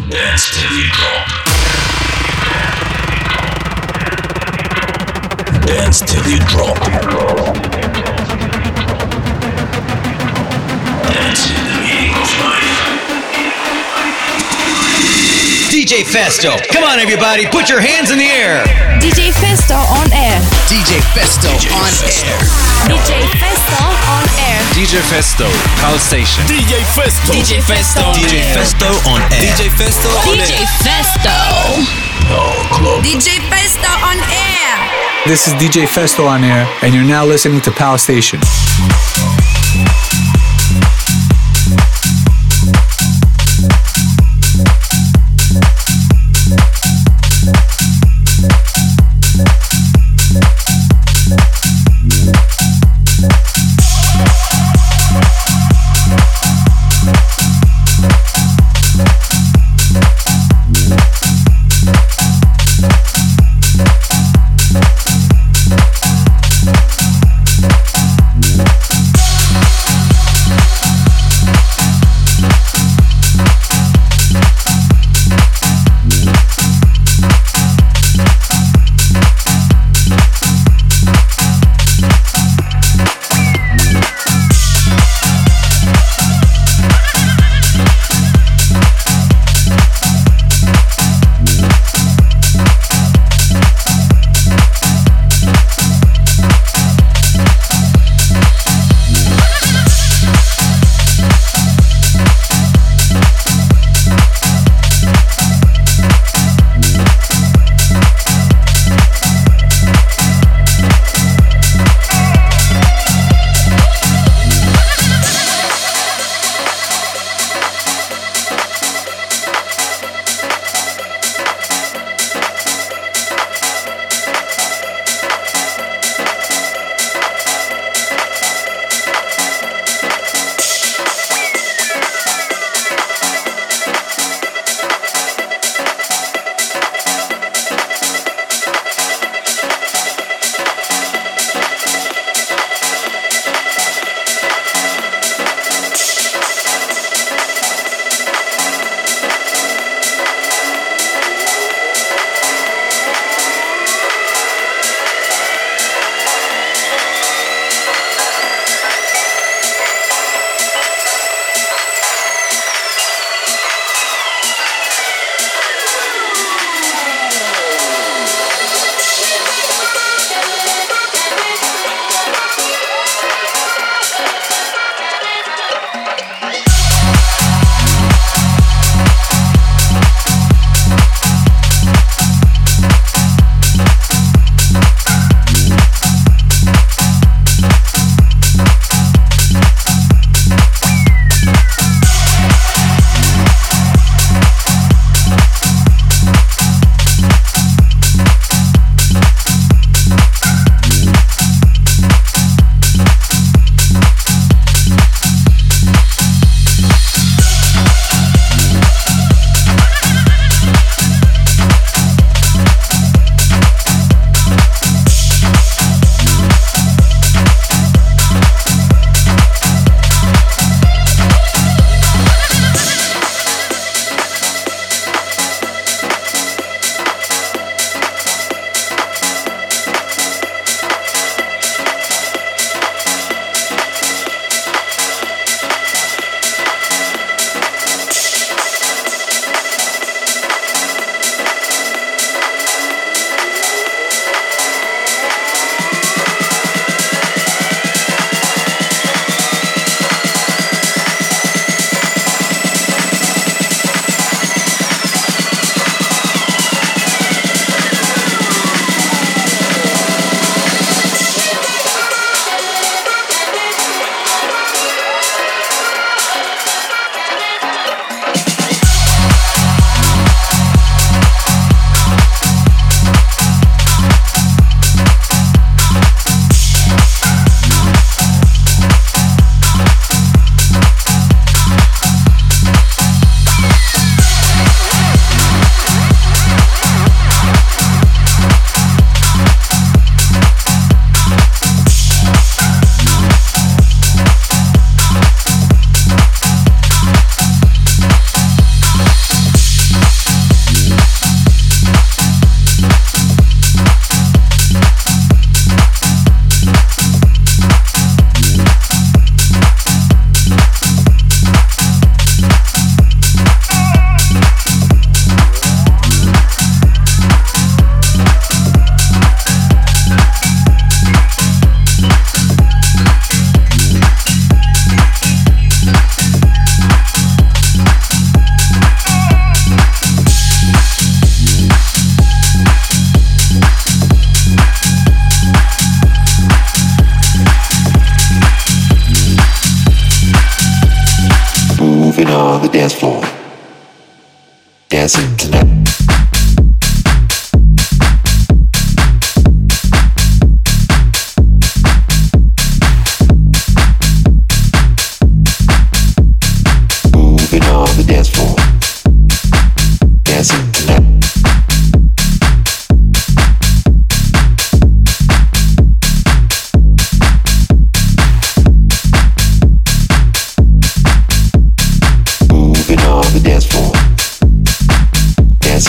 Dance till you drop. Dance till you drop. Dance in the meaning of life. DJ Festo, come on everybody, put your hands in the air. DJ Festo on air. DJ Festo on air. DJ Festo on air. DJ Festo, Pulse Station. DJ Festo. DJ Festo on DJ air. Festo on air. DJ Festo on DJ air. Festo. DJ Festo on air. This is DJ Festo on air, and you're now listening to Pal Station. dancing tonight. Moving on the dance floor, dancing tonight. Moving on the dance floor, dancing.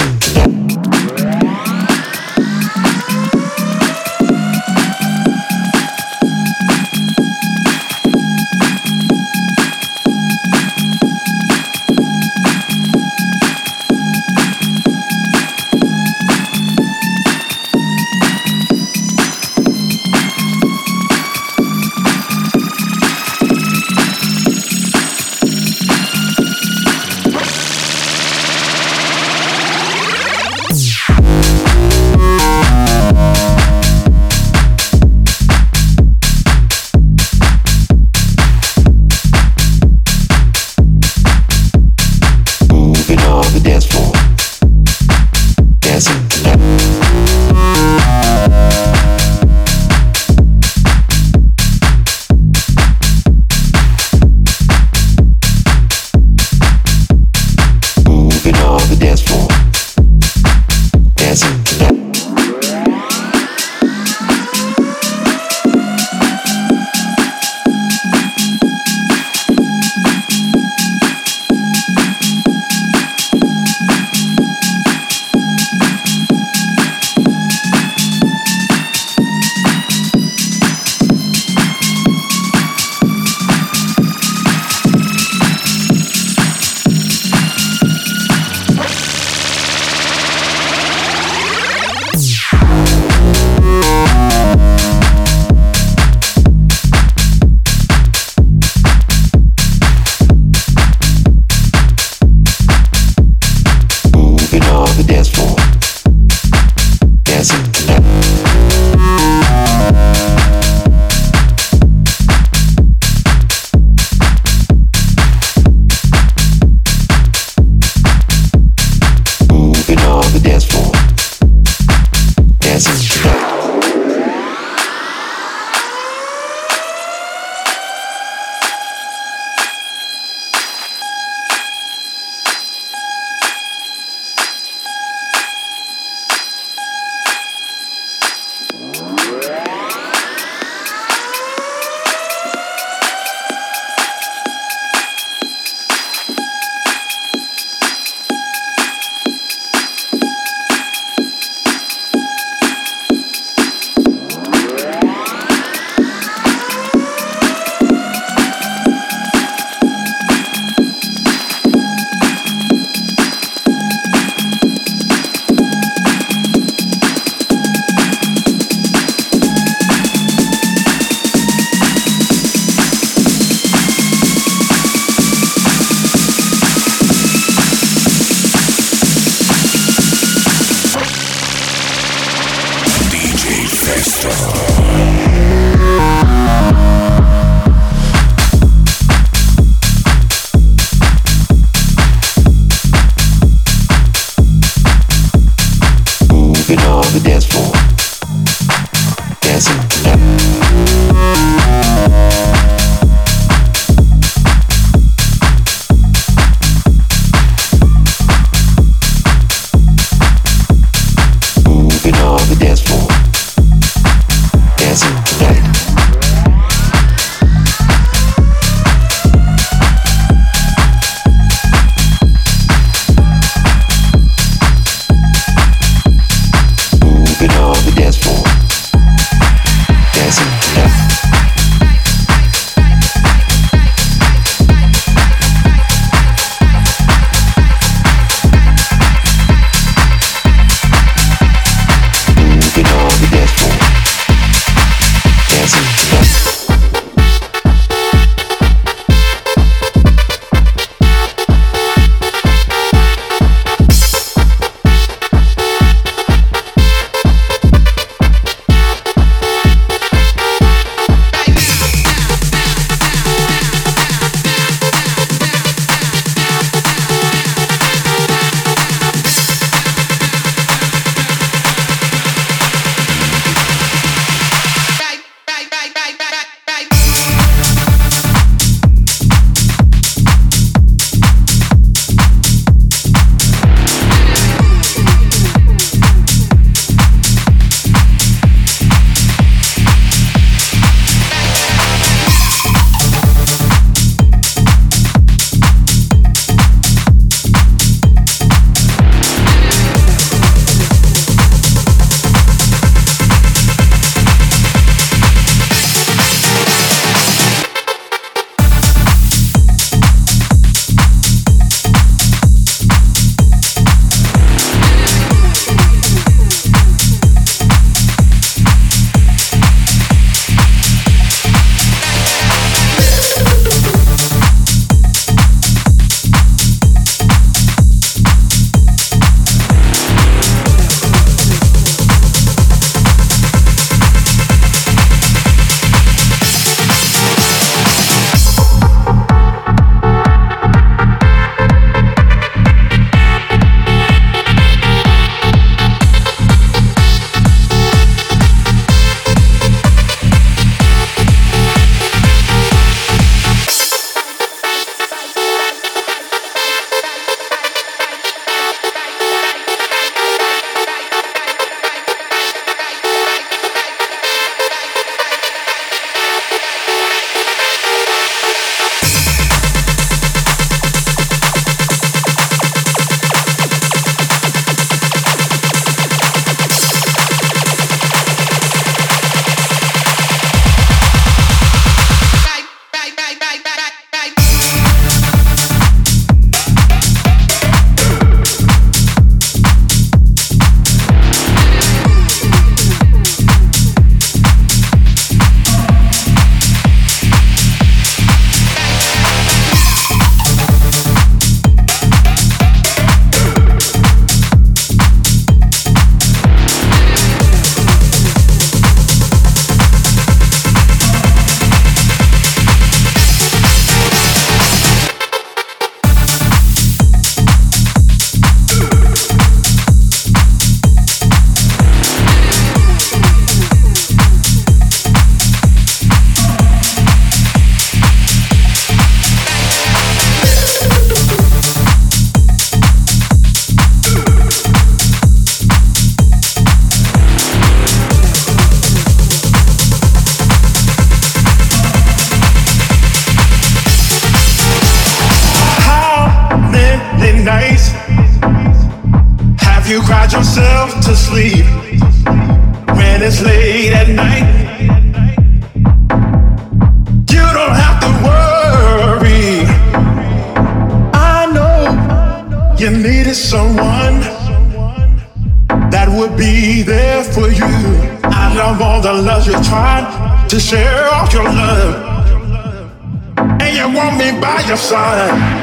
you cried yourself to sleep when it's late at night? You don't have to worry. I know you needed someone that would be there for you. I love all the love you tried to share all your love, and you want me by your side.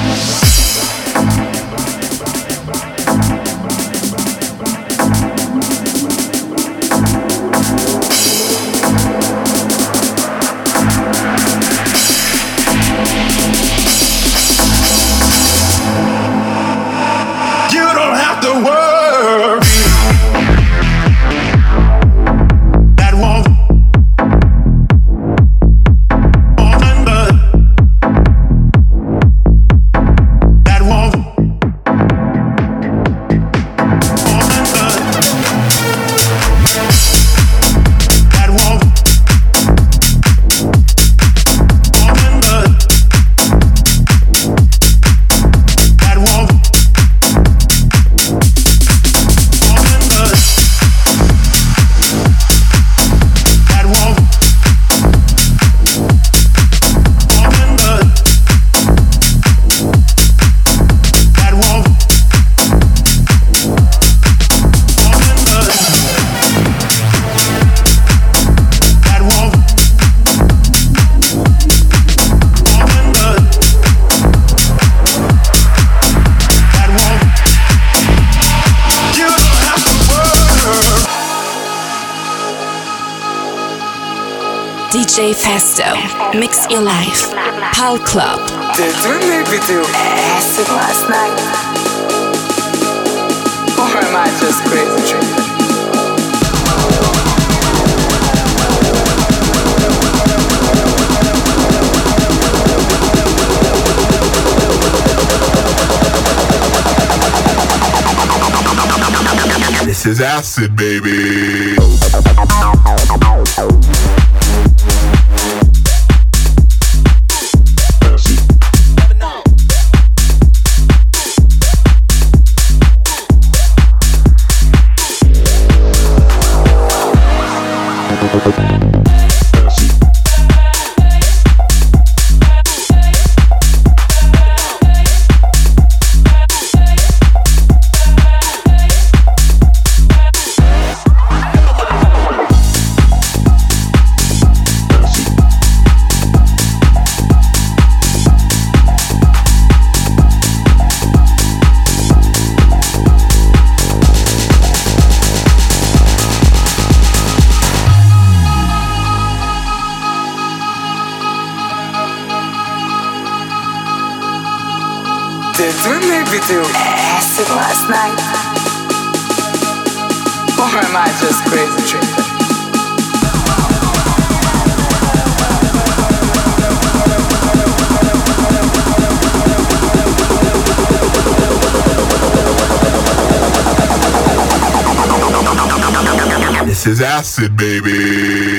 DJ Festo, mix your life. Pal Club. Did we maybe do acid last night? Or am I just crazy? This is acid, baby. Did we maybe do acid last night? Or am I just crazy? This is acid, baby.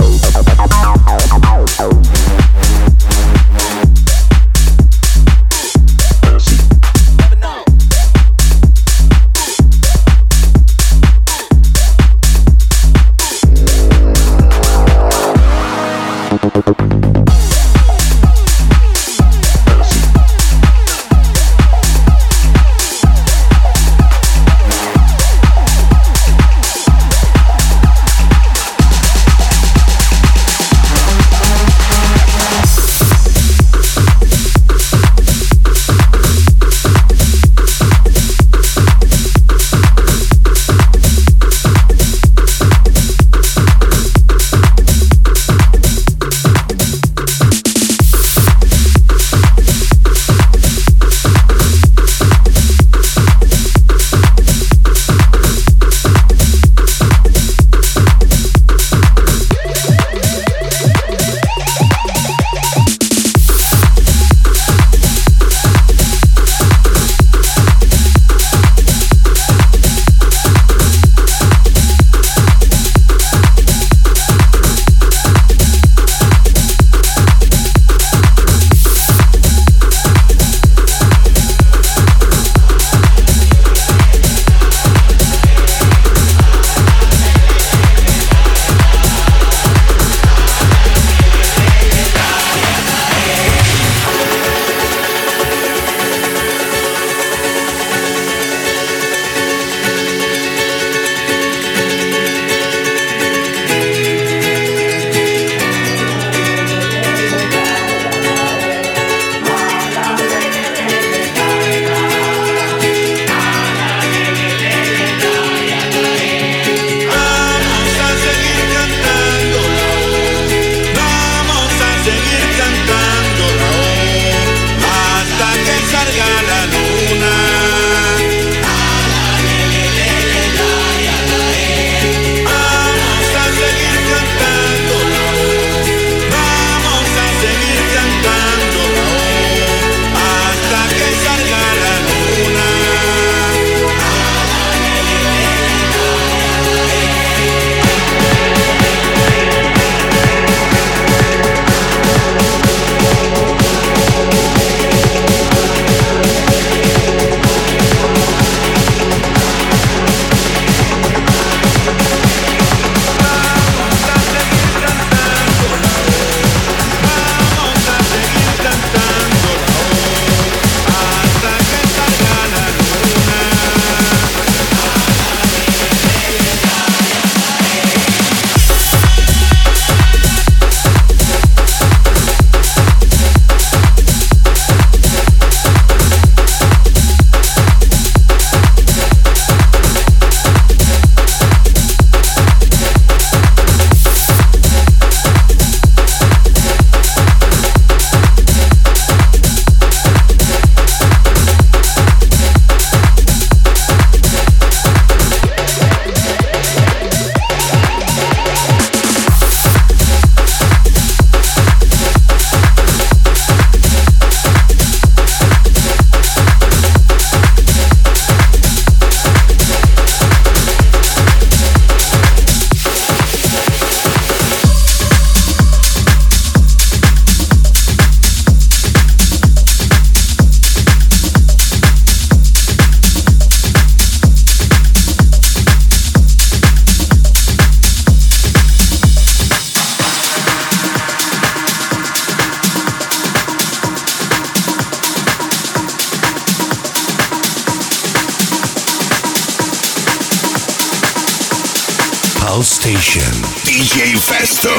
Pal Station. DJ Festo.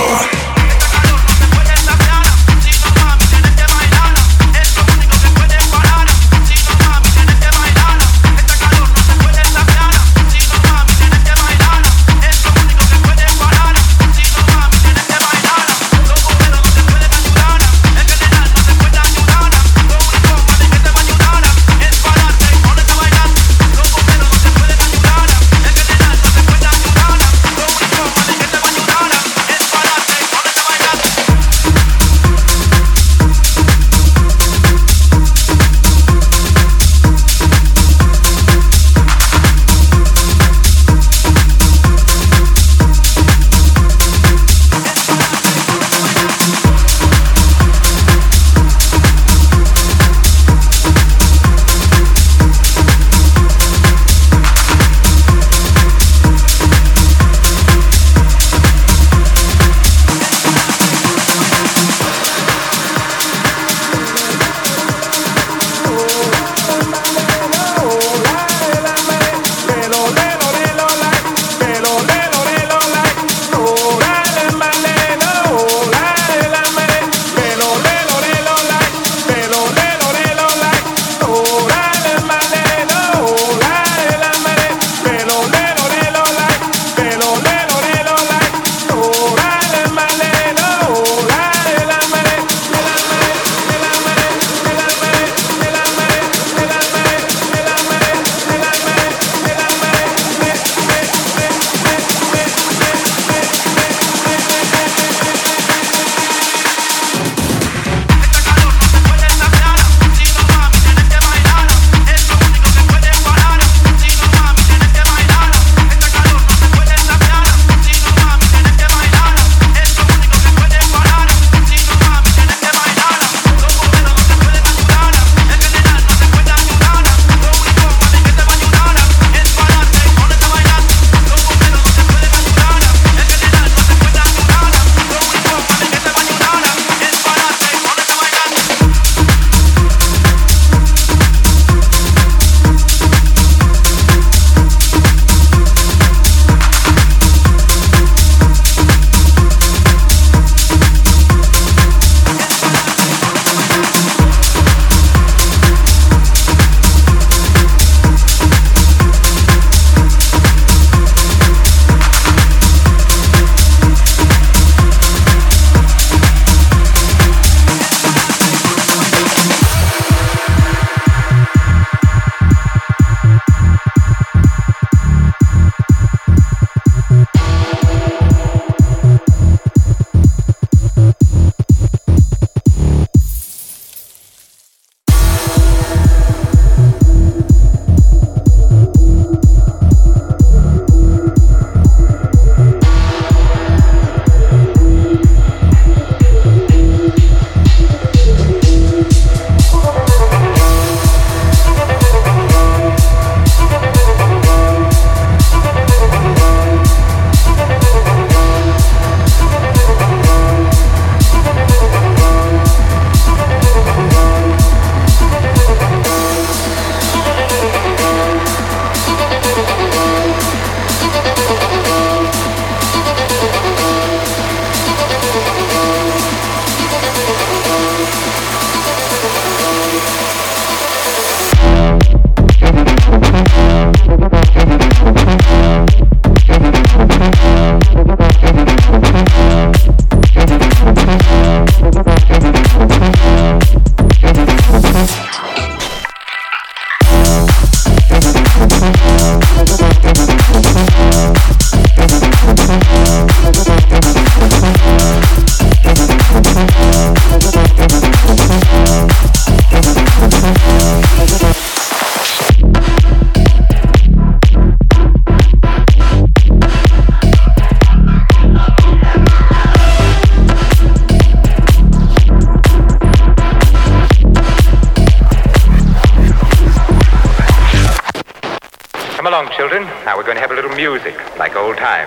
children. Now we're going to have a little music, like old times.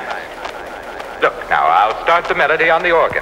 Look, now I'll start the melody on the organ.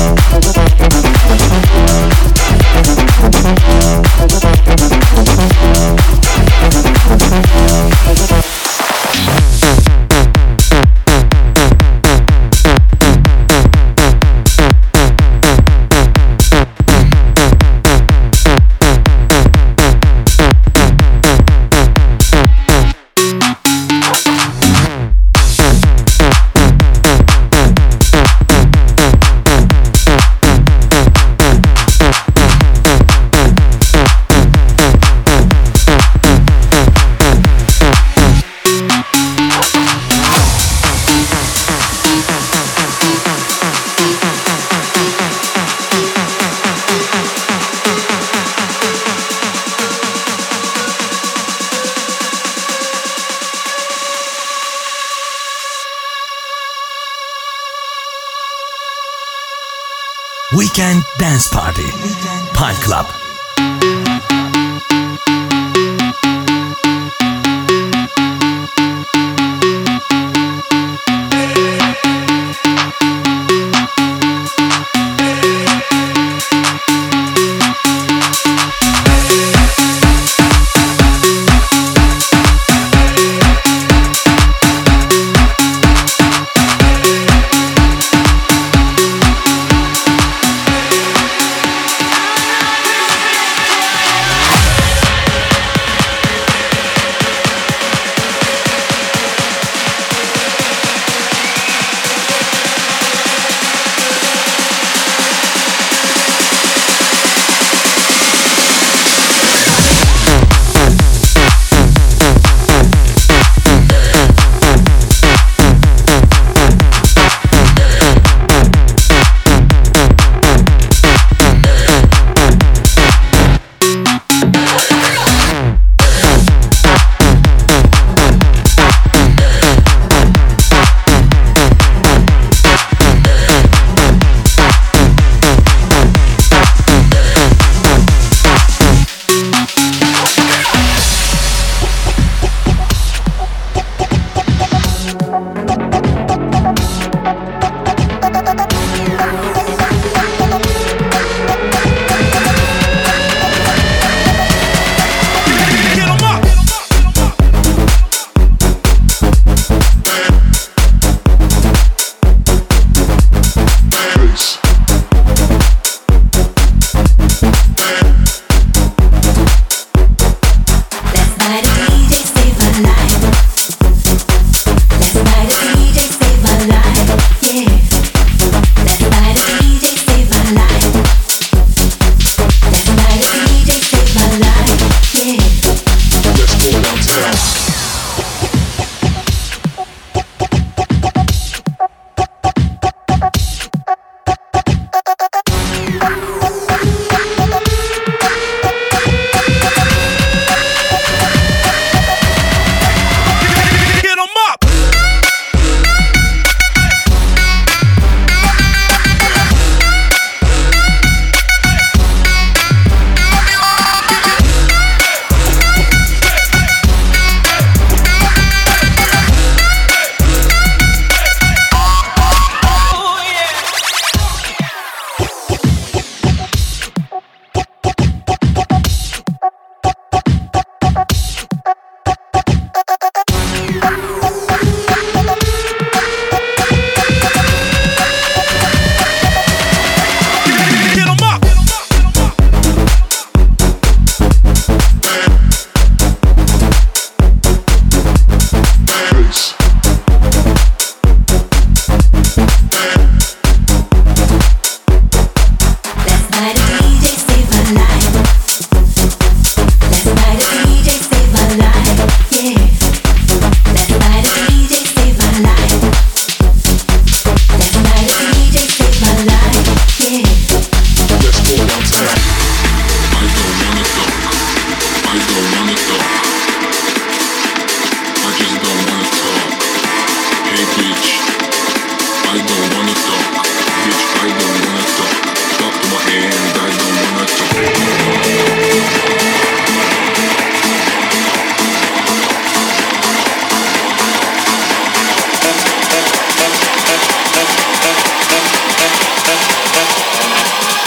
Weekend Dance Party. Pal Club.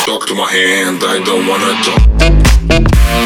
Talk to my hand, I don't wanna talk.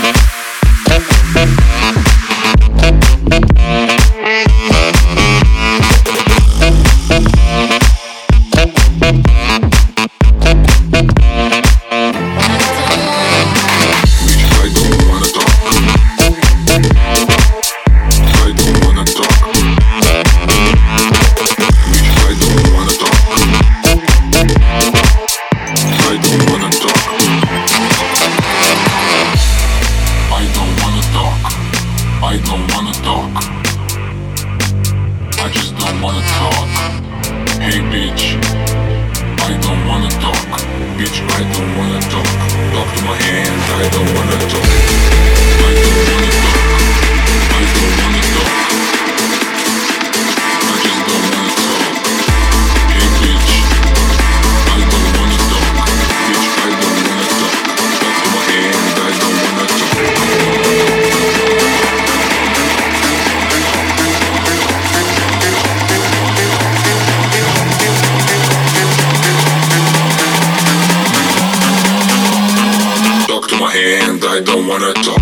I don't wanna talk.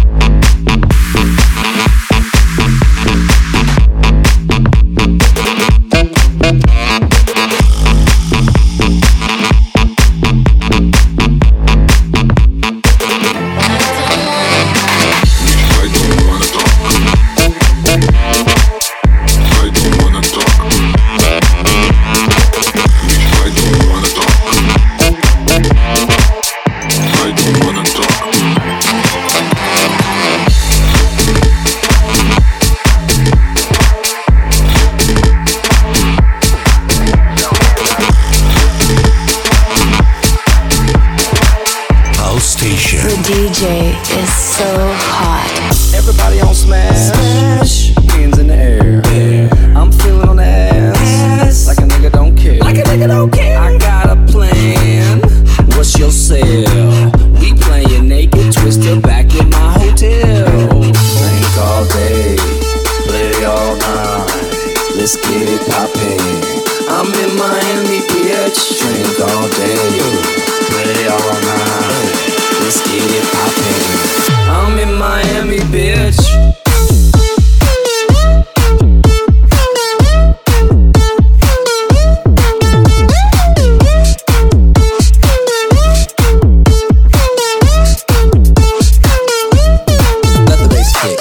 DJ is so hot. Everybody on smash. Hands in the air. I'm feeling on the ass. Like a nigga don't care. I got a plan. What's your sale? We playing naked twister back in my hotel. Drink all day, play all night. Let's get it poppin'. I'm in Miami, bitch. Drink all day, play all night. Let's get it poppin'. I'm in Miami, bitch. Let the bass kick.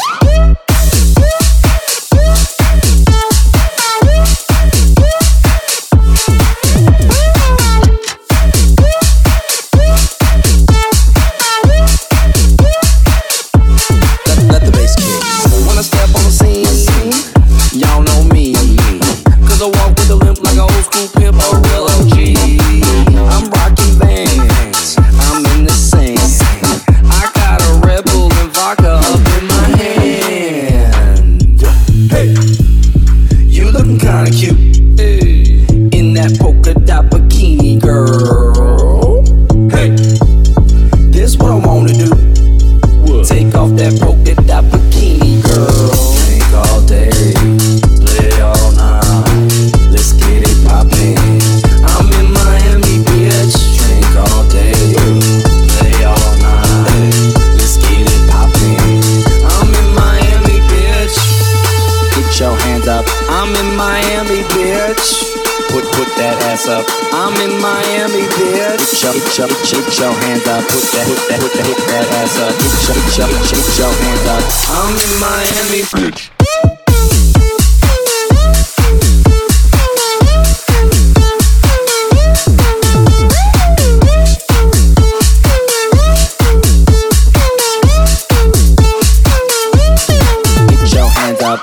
Get your hands up, put that ass up. Get your hands up. I'm in Miami, bitch. Get your hands up.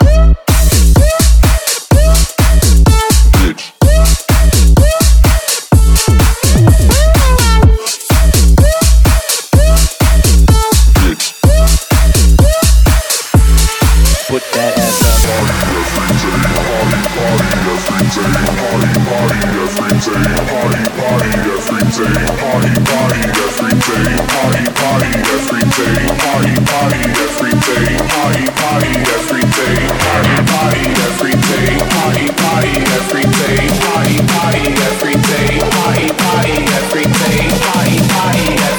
Party every day.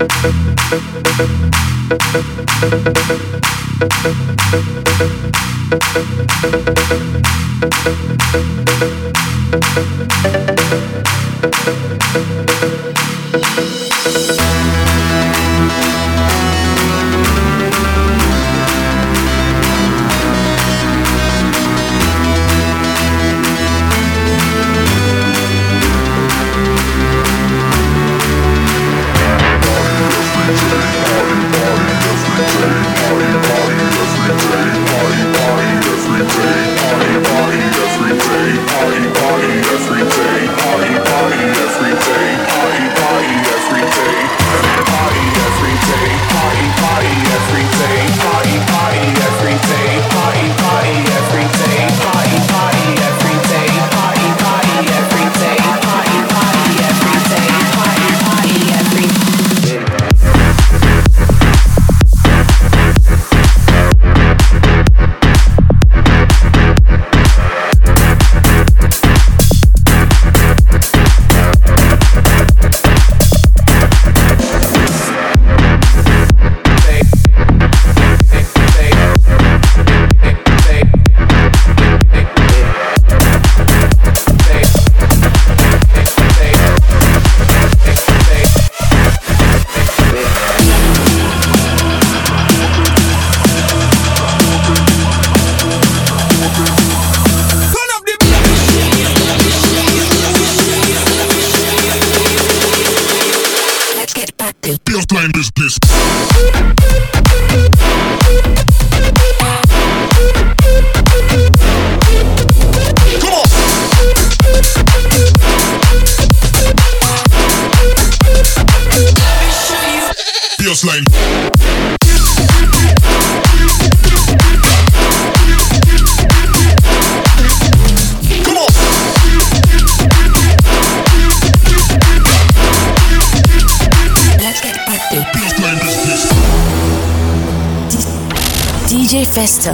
DJ Festo.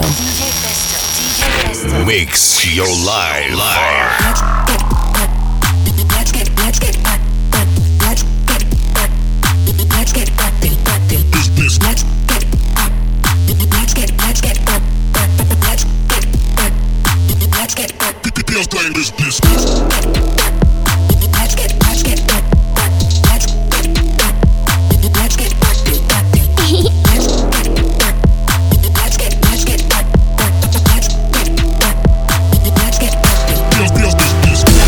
Mix your life. Feels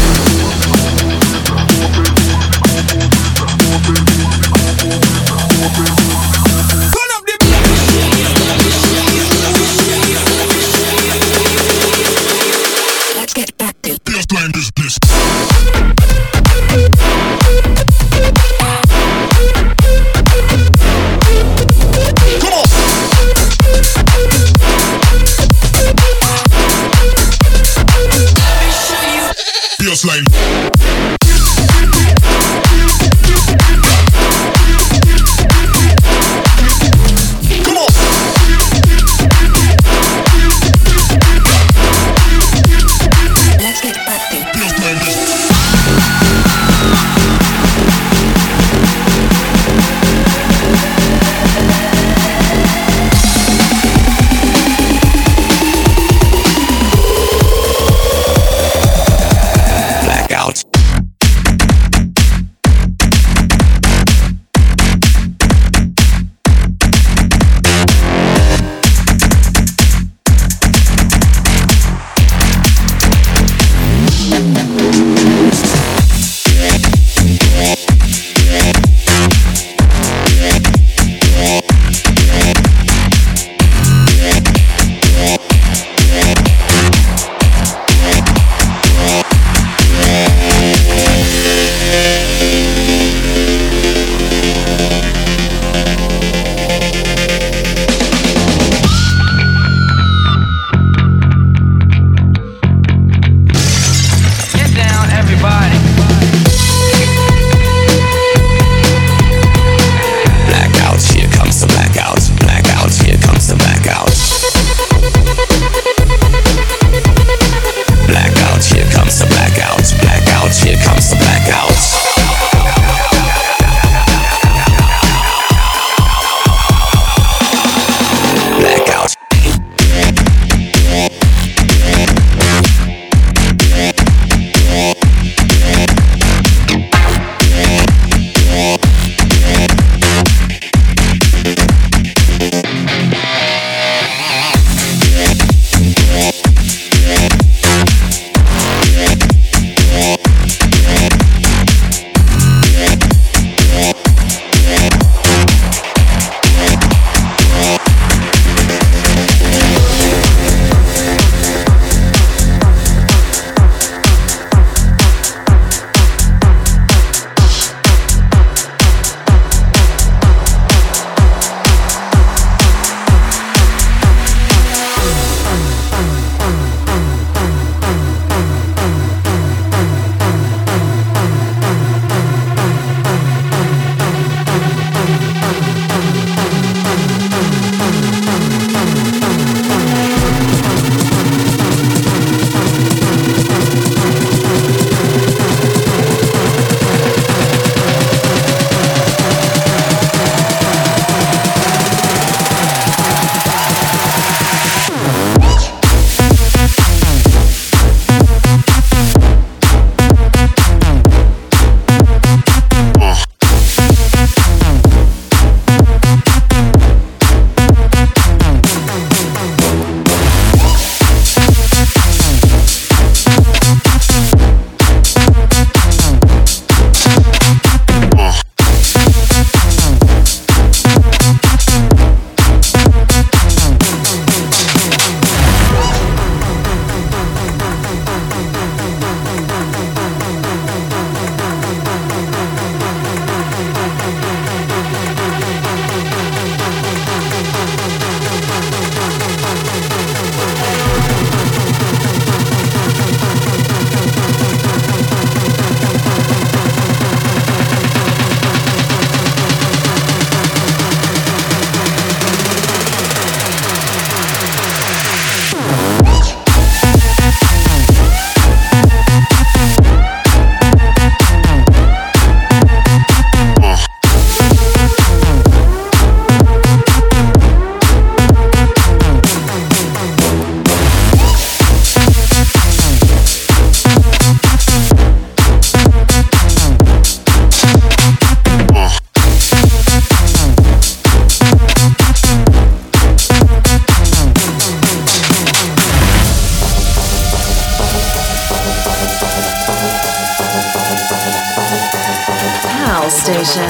Station.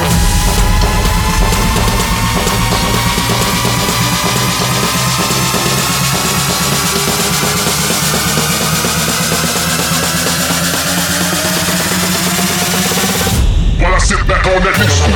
While I sit back on that new school.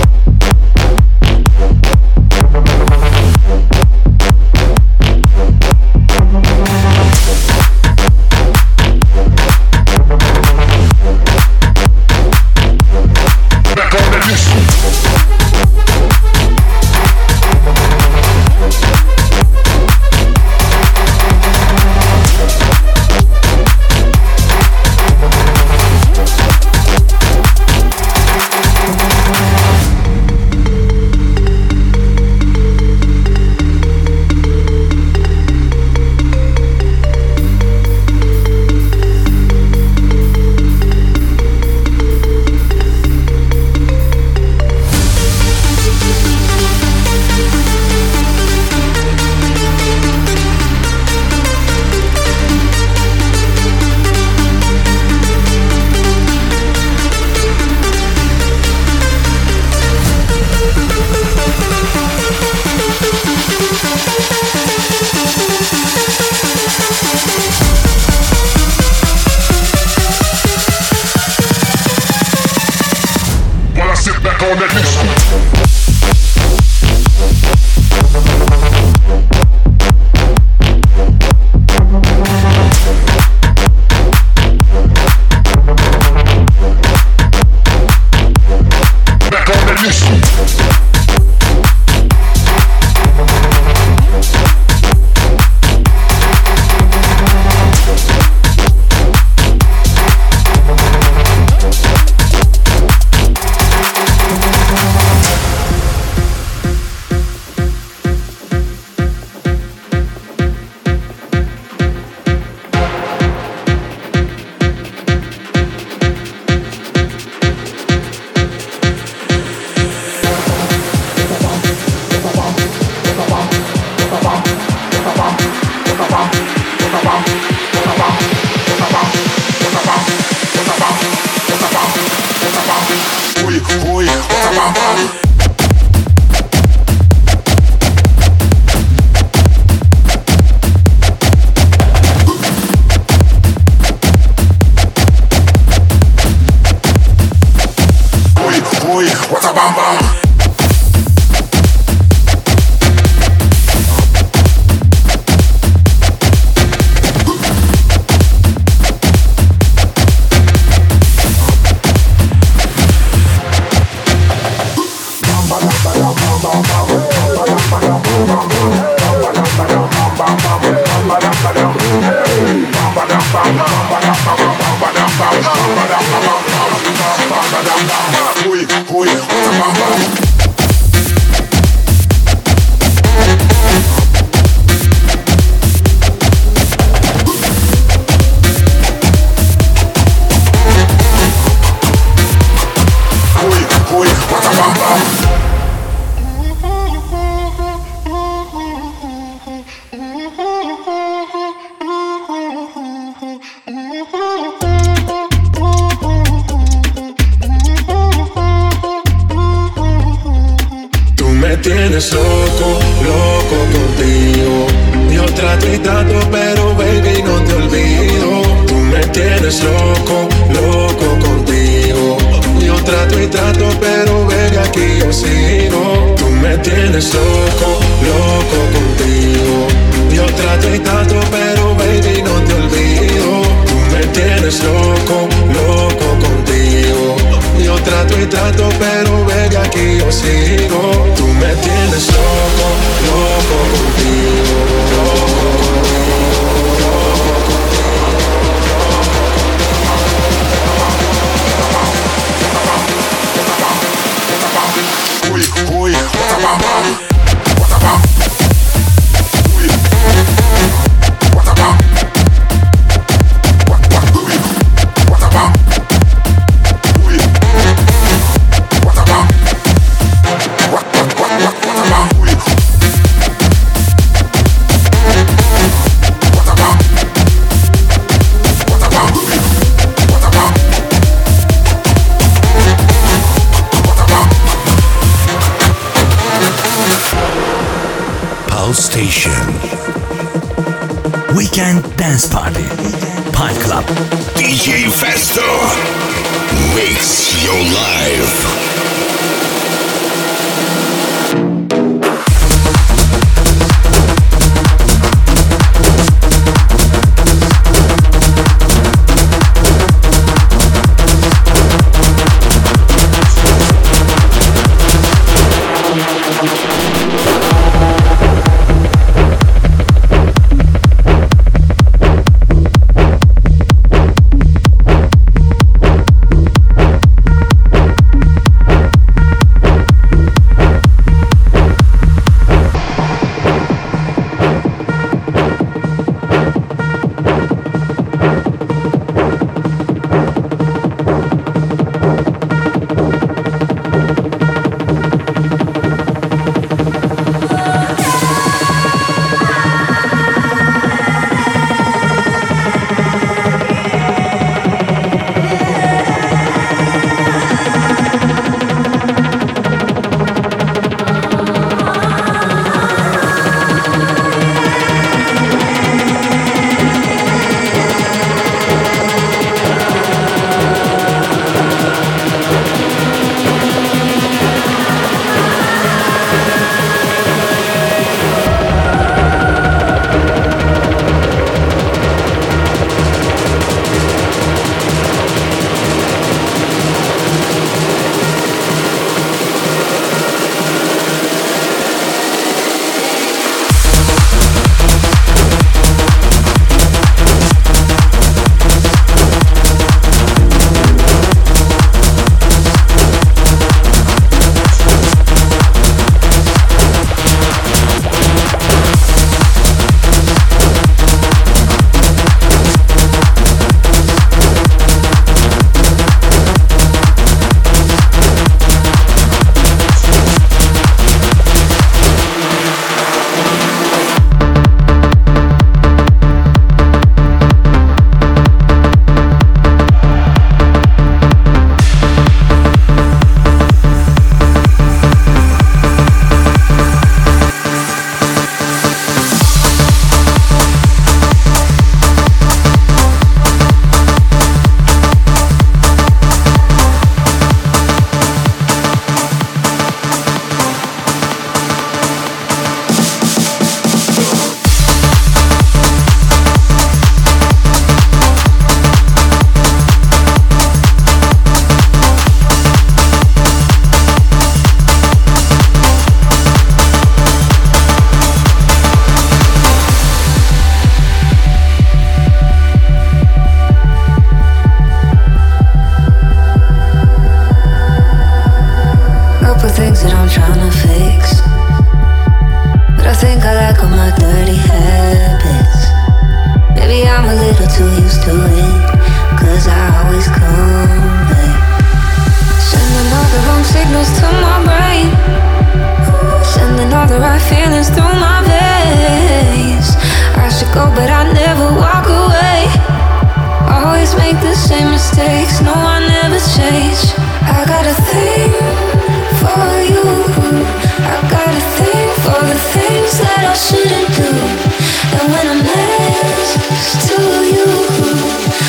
tienes loco, loco contigo. Yo trato y trato, pero baby no te olvido. Tú me tienes loco, loco contigo. Yo trato y trato, pero baby aquí yo sigo. Tú me tienes loco, loco contigo. Yo trato y trato, pero baby no te olvido. Tú me tienes loco, loco contigo. Yo trato y trato, pero baby aquí yo sigo. Tú me tienes loco, loco contigo, loco contigo. Uy, what a bam bam, what a bam. Uy, what a bam. What a bam. Uy, what a bam. What a bam. Uy, what a bam. What a bam. What a bam. Pulse Station. Weekend Dance Party. Pine Club. DJ Festo makes your life.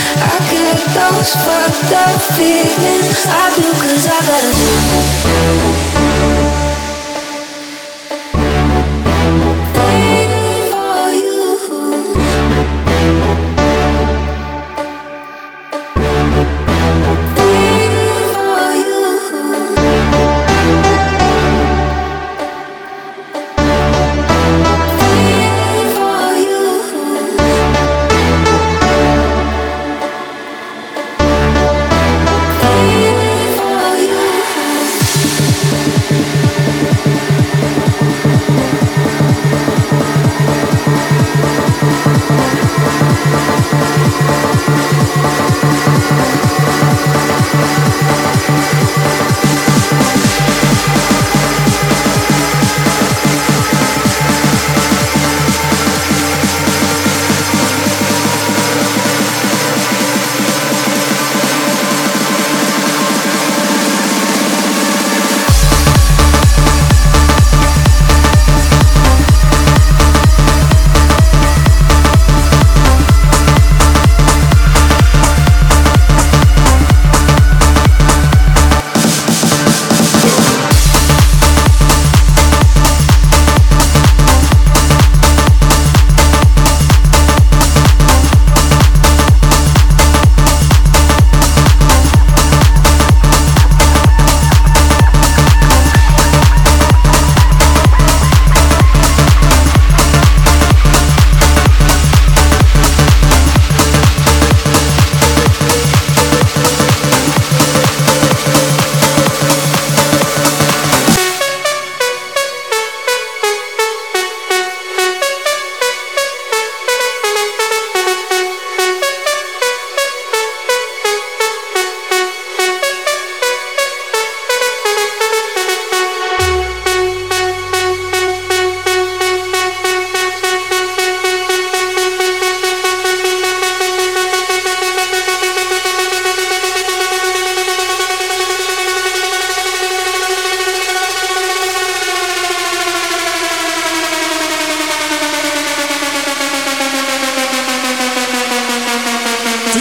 Fucked up feelings I do 'cause I gotta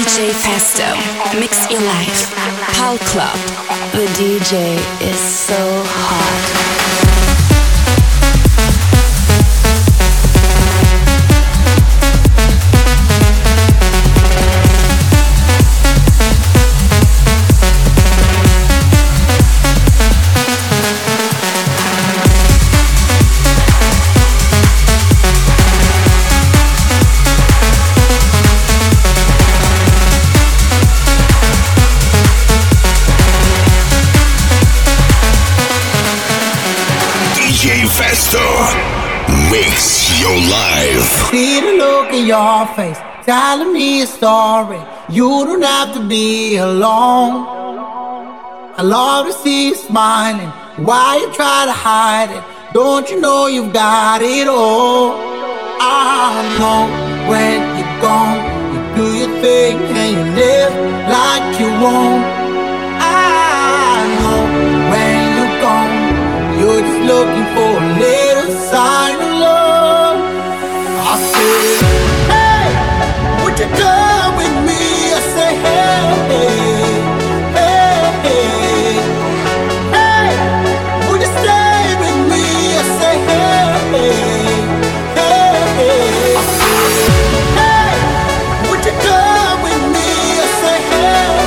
DJ Festo, mix your life. Pal Club. The DJ is so hot. Festo, mix your life. See the look in your face, telling me a story. You don't have to be alone. I love to see you smiling. Why you try to hide it? Don't you know you've got it all? I know when you're gone, you do your thing and you live like you won't. I know when you're gone, you're just looking for a little sign of love. I say, hey, would you come with me? I say, hey, hey, hey, hey, would you stay with me? I say, hey, hey, hey, I say, hey, would you come with me? I say, hey,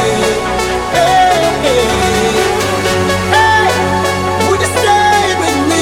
hey, hey, hey, would you stay with me?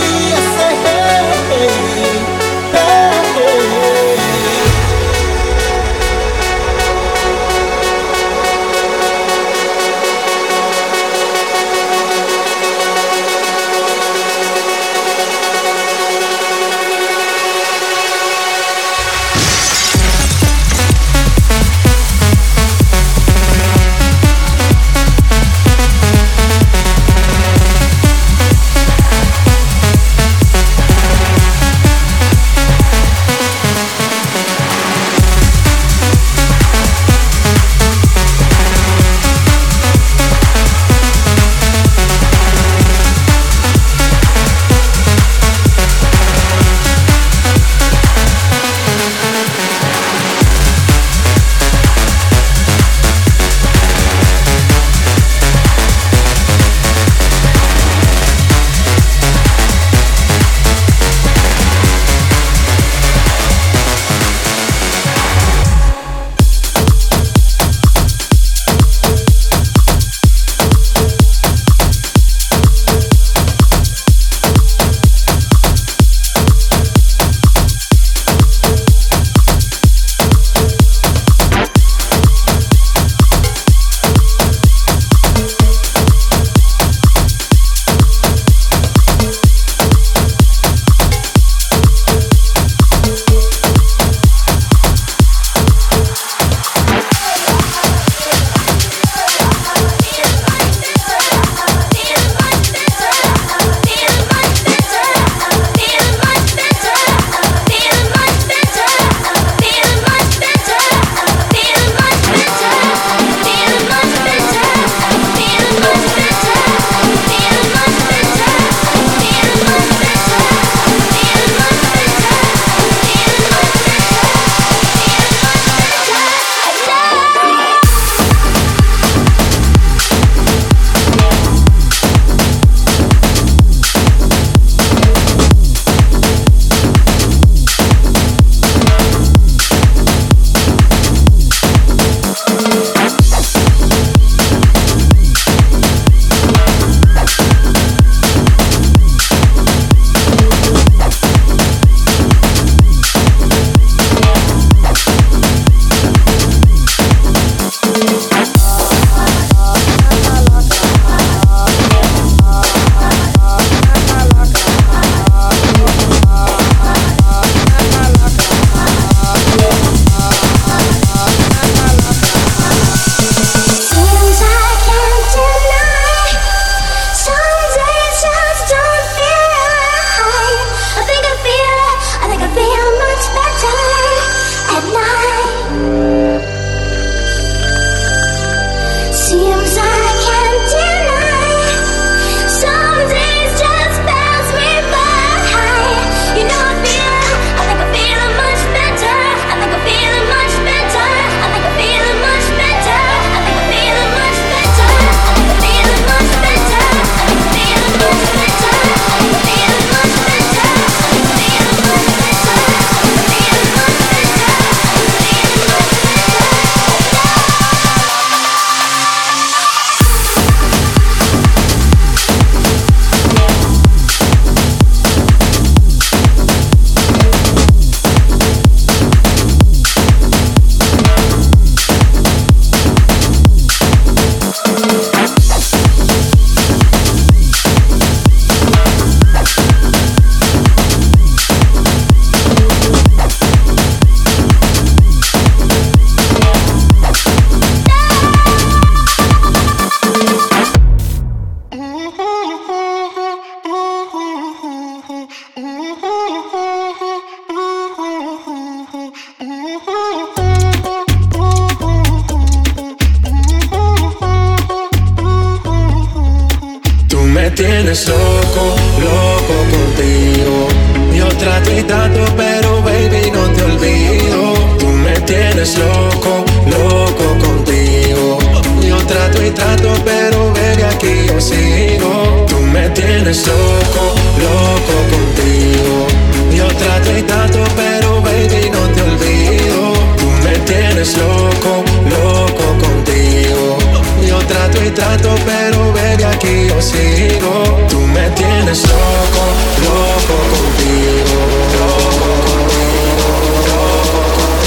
tienes loco, loco contigo. Yo trato y trato, pero baby no te olvido. Tú me tienes loco, loco contigo. Yo trato y trato, pero baby aquí yo sigo. Tú me tienes loco, loco contigo. Yo trato y trato, pero baby no te olvido. Tú me tienes loco, loco contigo. Yo trato y trato, pero baby aquí yo sigo. Tú me tienes loco, loco contigo. Loco contigo, loco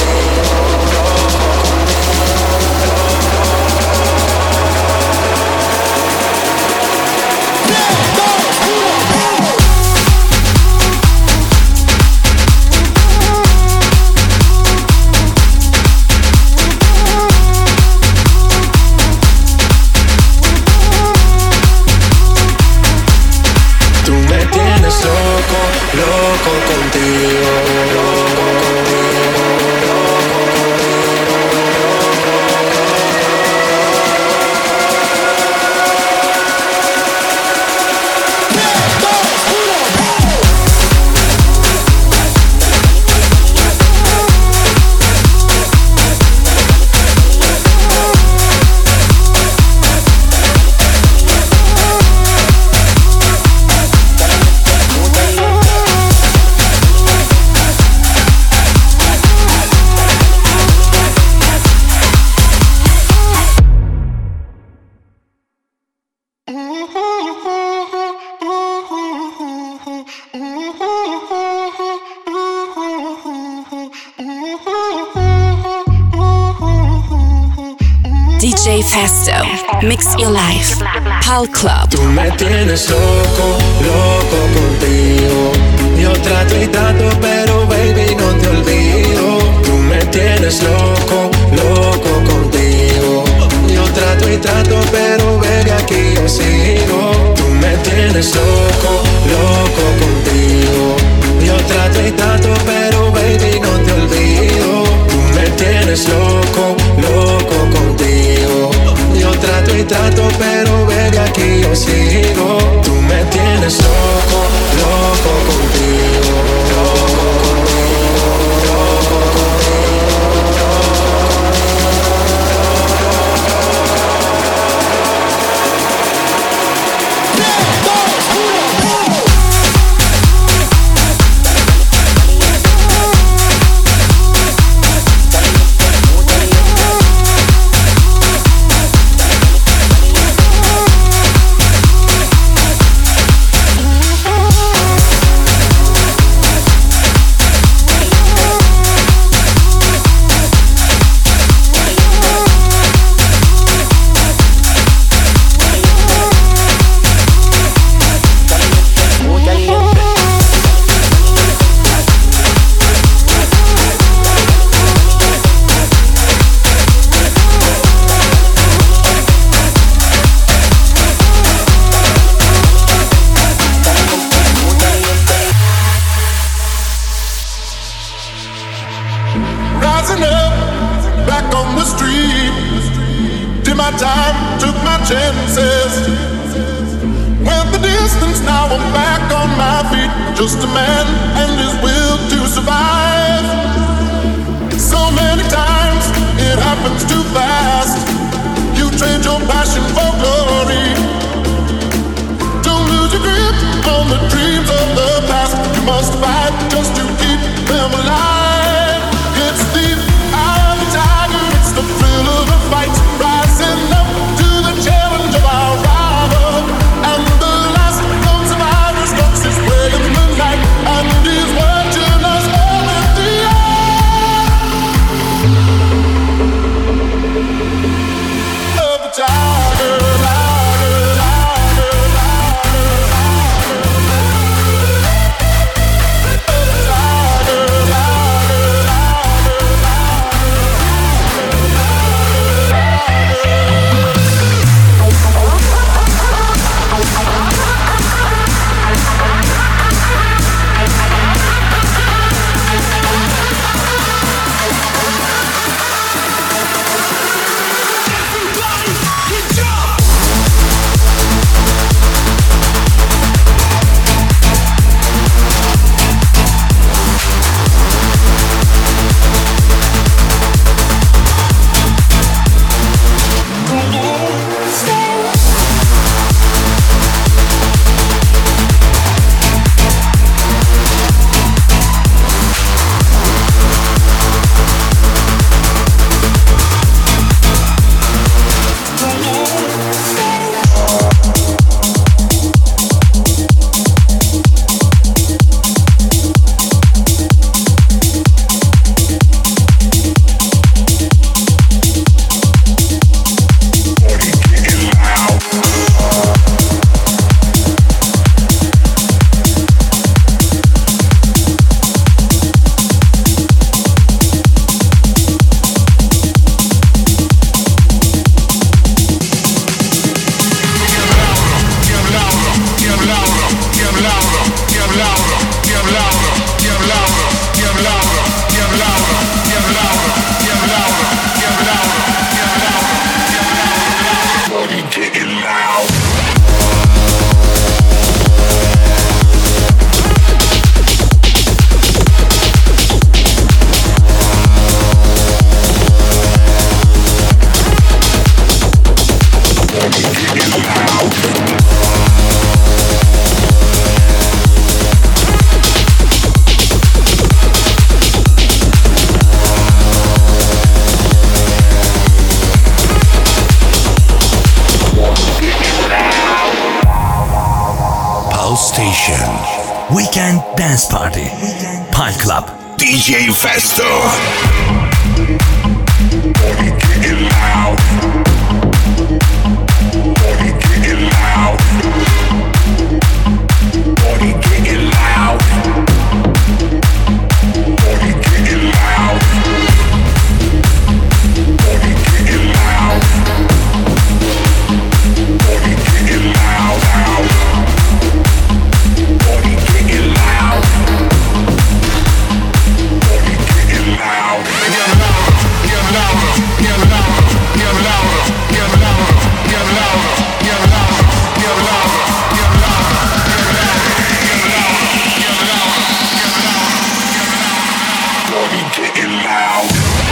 loco contigo, loco contigo, loco DJ Festo, Mix Your Life, Pal Club. Tú me tienes loco, loco contigo. Yo trato y trato, pero baby no te olvido. Tú me tienes loco, loco contigo. Yo trato y trato, pero baby aquí yo sigo. Tú me tienes loco, loco contigo. Yo trato y trato, pero baby no te olvido. Tú me tienes loco, loco contigo. Yo trato y trato, pero baby aquí yo sigo. Tú me tienes loco, loco contigo. Loco contigo, loco contigo, just a man and his will to survive. So many times it happens too fast. You trade your passion for glory. Don't lose your grip on the dreams of the past. You must fight just to keep them alive. It's the eye of the tiger, it's the thrill of the fight. Rising up to the challenge of our rival. And the last known survivor stalks his way in the night. And he's watching us all in the eye of the tiger. Tiger. Pulse Station. Weekend Dance Party. Pulse Club. DJ Festo. Body getting loud. Body getting loud. Body getting loud. Body getting loud. Body getting loud. Body getting loud. Body getting loud. Body getting loud. Get louder, get louder, get louder, get louder, get louder, get louder, get louder, get louder, get louder, get louder, body getting loud.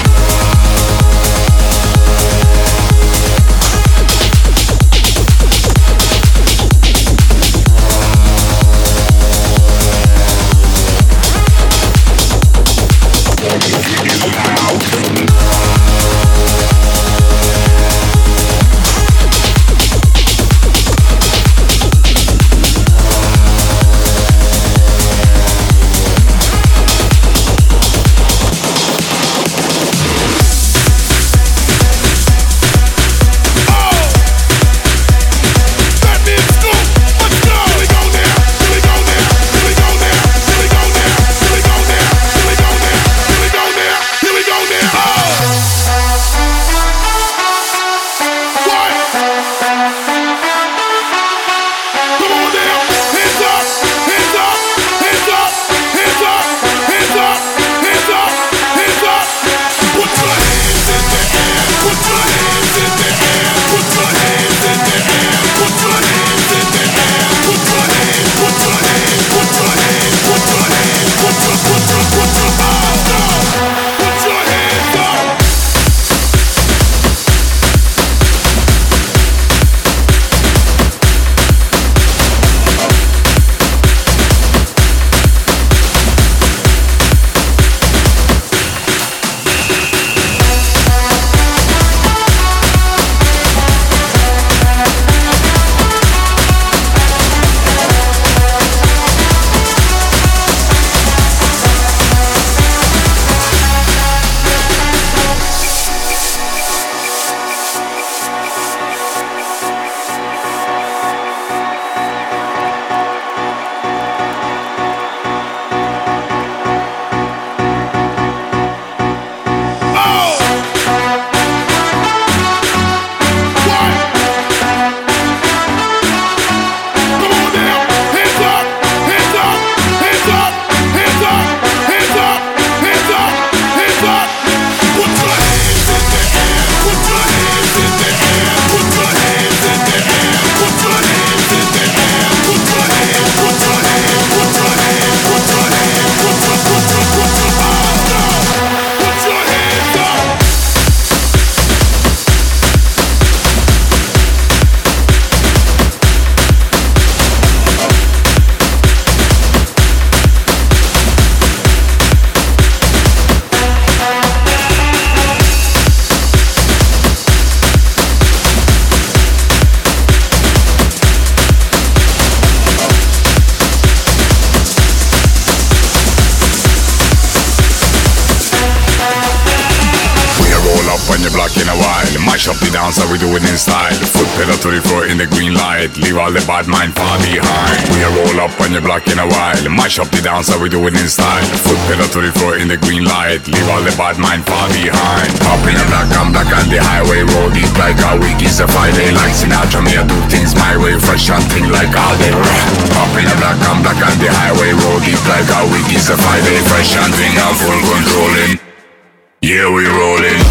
How we do it in style. Foot pedal to the floor in the green light. Leave all the bad mind far behind. We roll up on your block in a while. Mash up the dance, how we do it in style. Foot pedal to the floor in the green light. Leave all the bad mind far behind. Up in a black, I'm black on the highway. Roll deep like a week is a Friday. Like Sinatra, me I do things my way. Fresh and thing like all day. Up in a black, I'm black on the highway. Roll deep like a week is a Friday. Fresh and thing, I'm full controlling. Yeah, we rolling.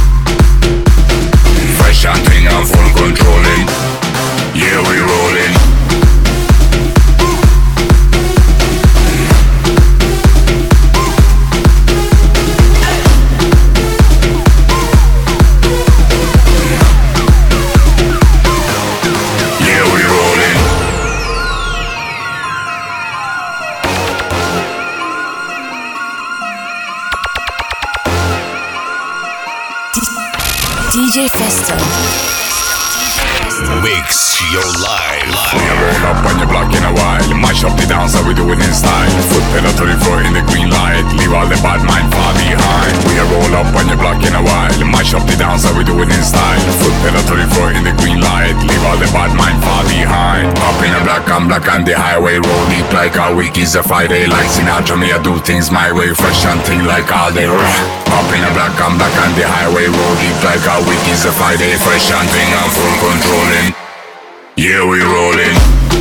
Full controlling, yeah we rolling. DJ Festo. Mix your life. We roll up on your block in a while. Mash up the dance, how we do it in style. Foot pedal to the floor in the green light. Leave all the bad mind far behind. We roll up on your block in a while. Mash up the dance, how we do it in style. Foot pedal to the floor in the green light. Leave all the bad mind far behind. Up in a black, I'm black on the highway. Roll deep like a week is a Friday. Like Sinatra, me I do things my way. Fresh and thing like all day. Up in a black, I'm black on the highway. Roll deep like a week is a Friday. Fresh and thing, I'm full controlling. Yeah, we rollin'.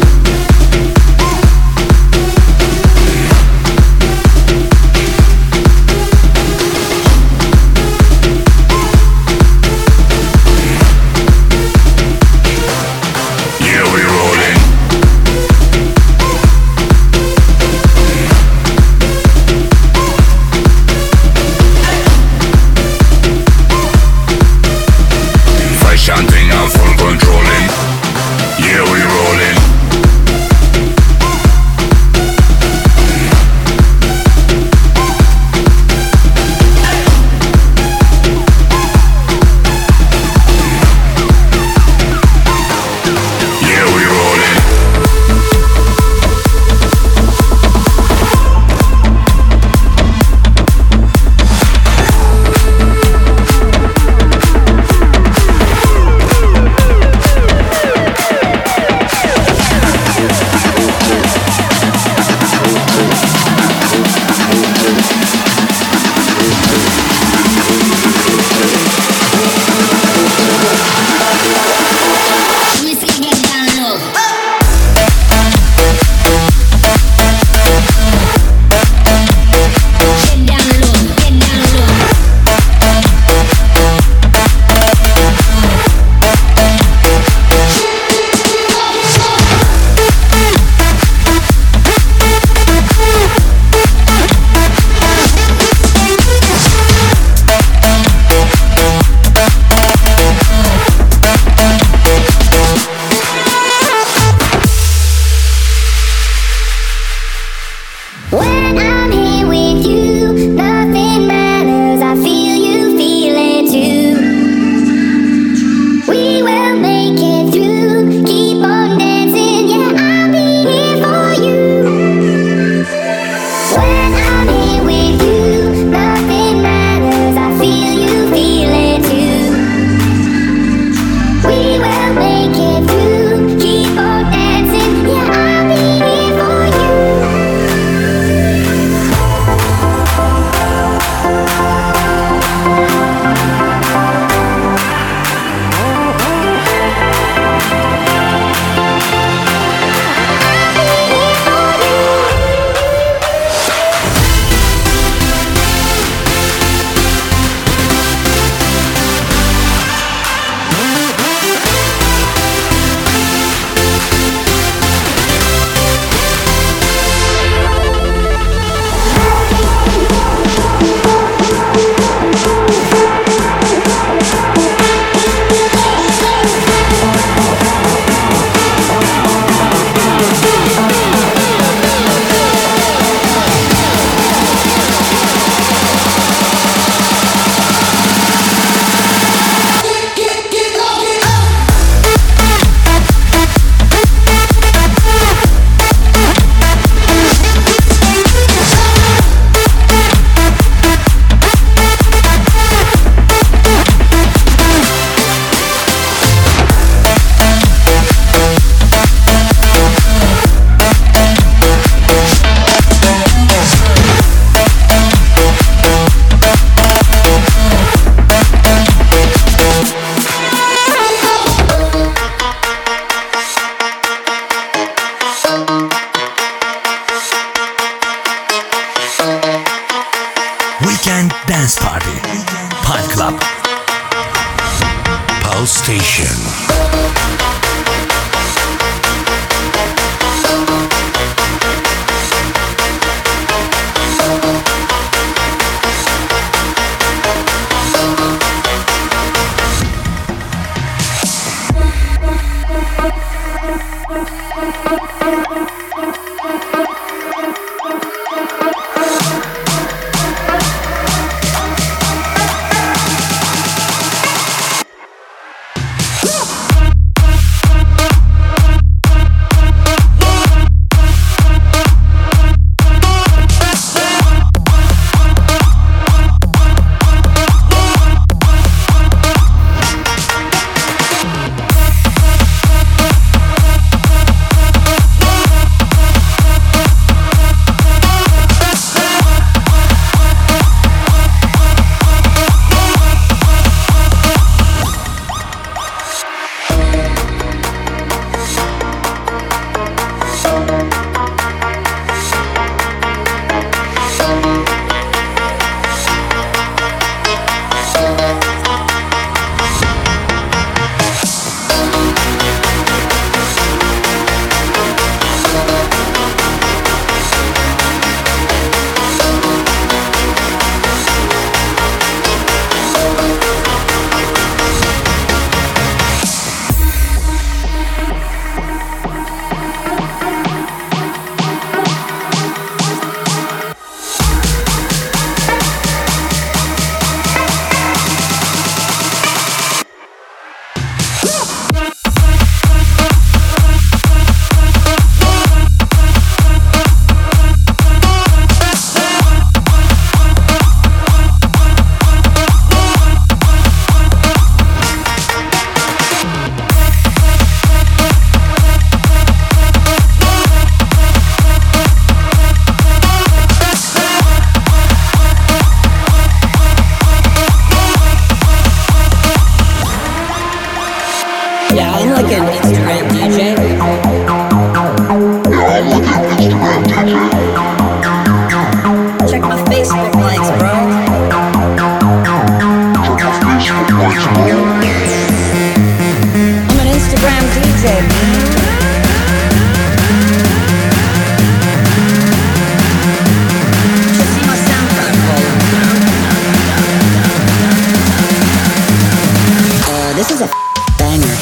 Weekend Dance Party. Pine Club. Pulse Station. like an Instagram DJ. Yeah, I'm like an Instagram DJ. Check my Facebook likes, bro. Check my Facebook likes, bro. I'm an Instagram DJ, man. Should see my SoundCloud follow. This is a banger.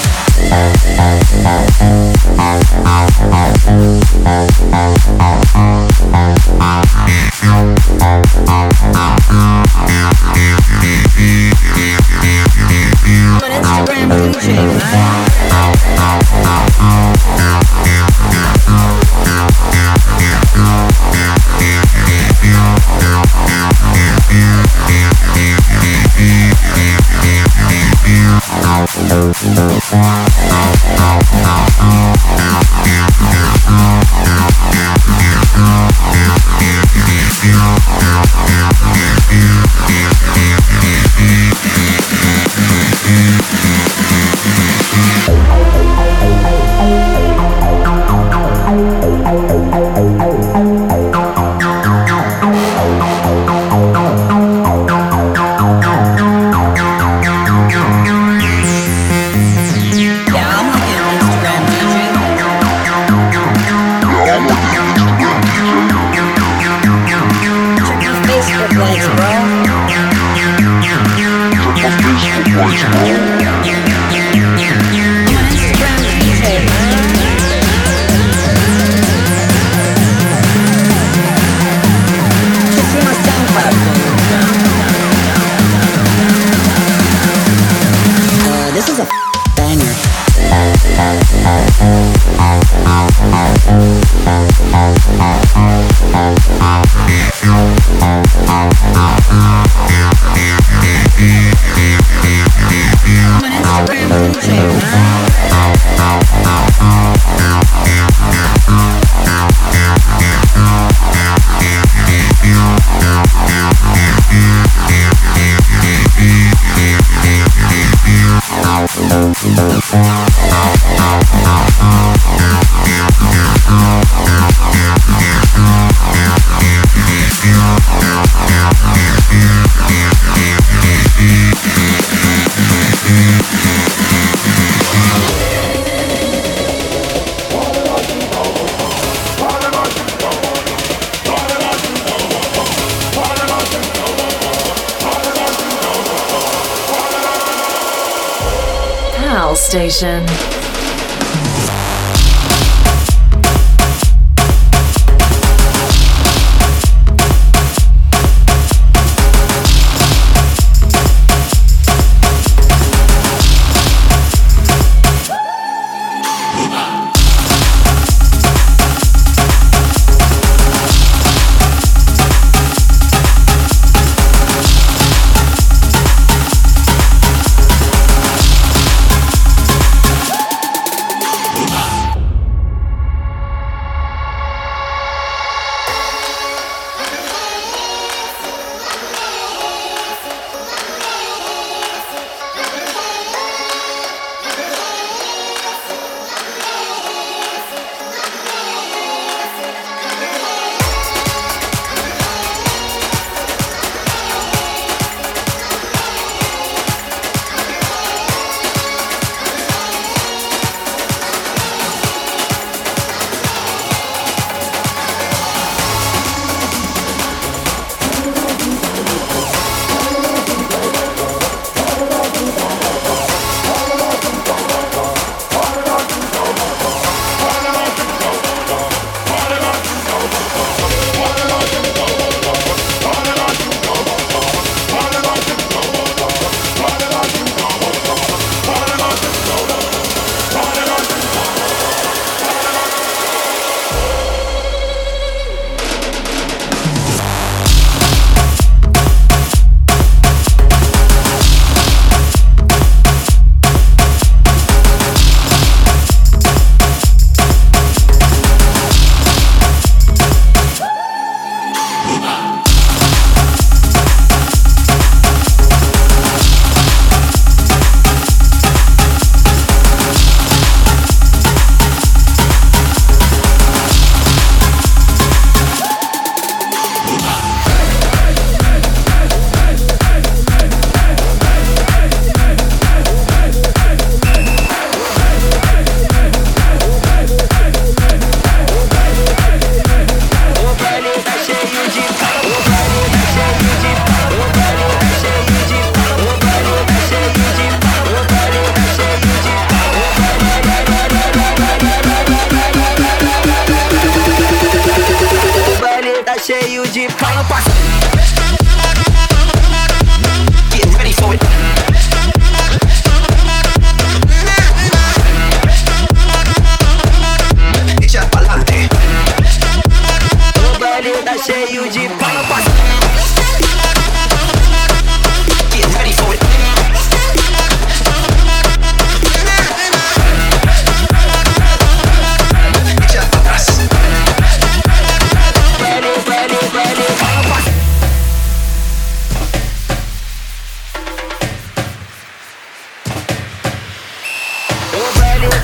I'm an Instagram DJ, man. Station.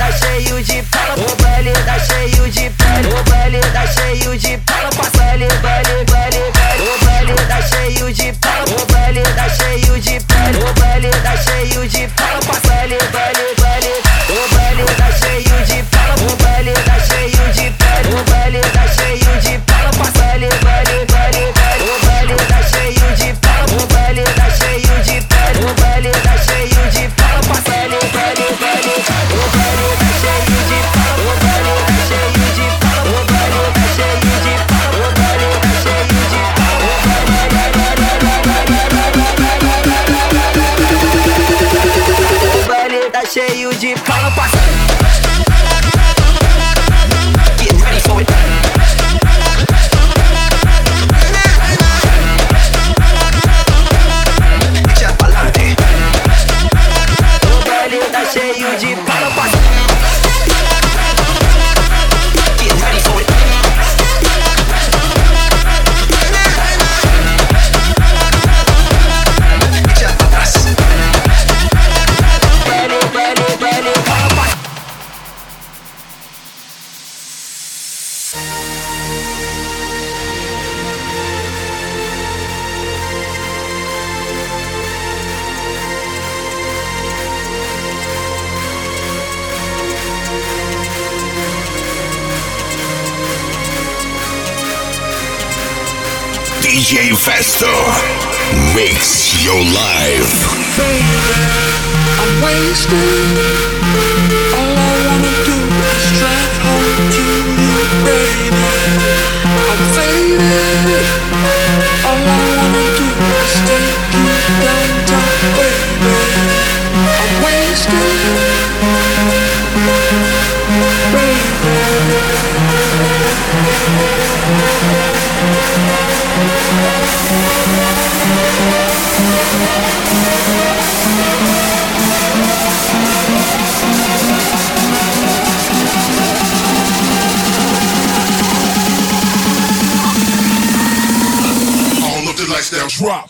tá cheio de pala, o baile tá cheio de pala, o baile tá cheio de pala, passa baile, baile, baile, baile. O baile tá cheio de pala, o baile tá cheio de pala, o baile tá cheio de pala, passa baile, baile, baile. O baile tá cheio de pala, o baile tá cheio de pala, o baile tá cheio de pala, passa baile, baile, baile, baile. O baile tá cheio de pala, o baile tá cheio de pala, o baile tá cheio de pala, passa baile, baile, baile. O baile tá cheio de pala, o baile tá cheio de pala, o baile tá cheio de pala, o baile tá cheio de pala, o baile tá cheio de pala, passa. Get ready for it. Echa pa'lante. O baile tá cheio de pala, passa. Get ready for it. Echa pra trás. Baile, baile, baile, pala, passa. DJ Festo. Mix your life. I'm wasted. All I wanna do is drive home to you, baby. I'm faded. All I wanna do is take you downtown, baby. I'm wasted, All of the lights down, drop.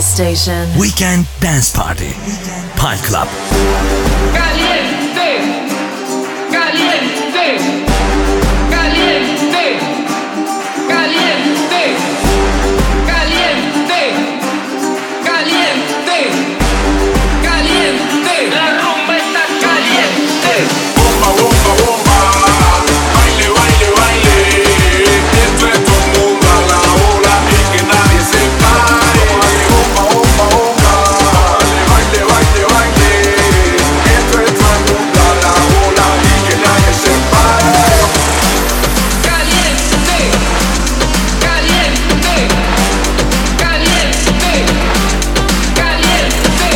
Pulse Station. Weekend Dance Party. Pal Club. Caliente, caliente, caliente, caliente, caliente, caliente, caliente. La rumba está caliente. Bomba, bomba, bomba. Baile, baile, baile. Esto es todo el mundo a la ola y que nadie se pare. Bomba, bomba, bomba. Baile, baile, baile. Esto es todo el mundo a la ola y que nadie se pare. Caliente, caliente, caliente, caliente,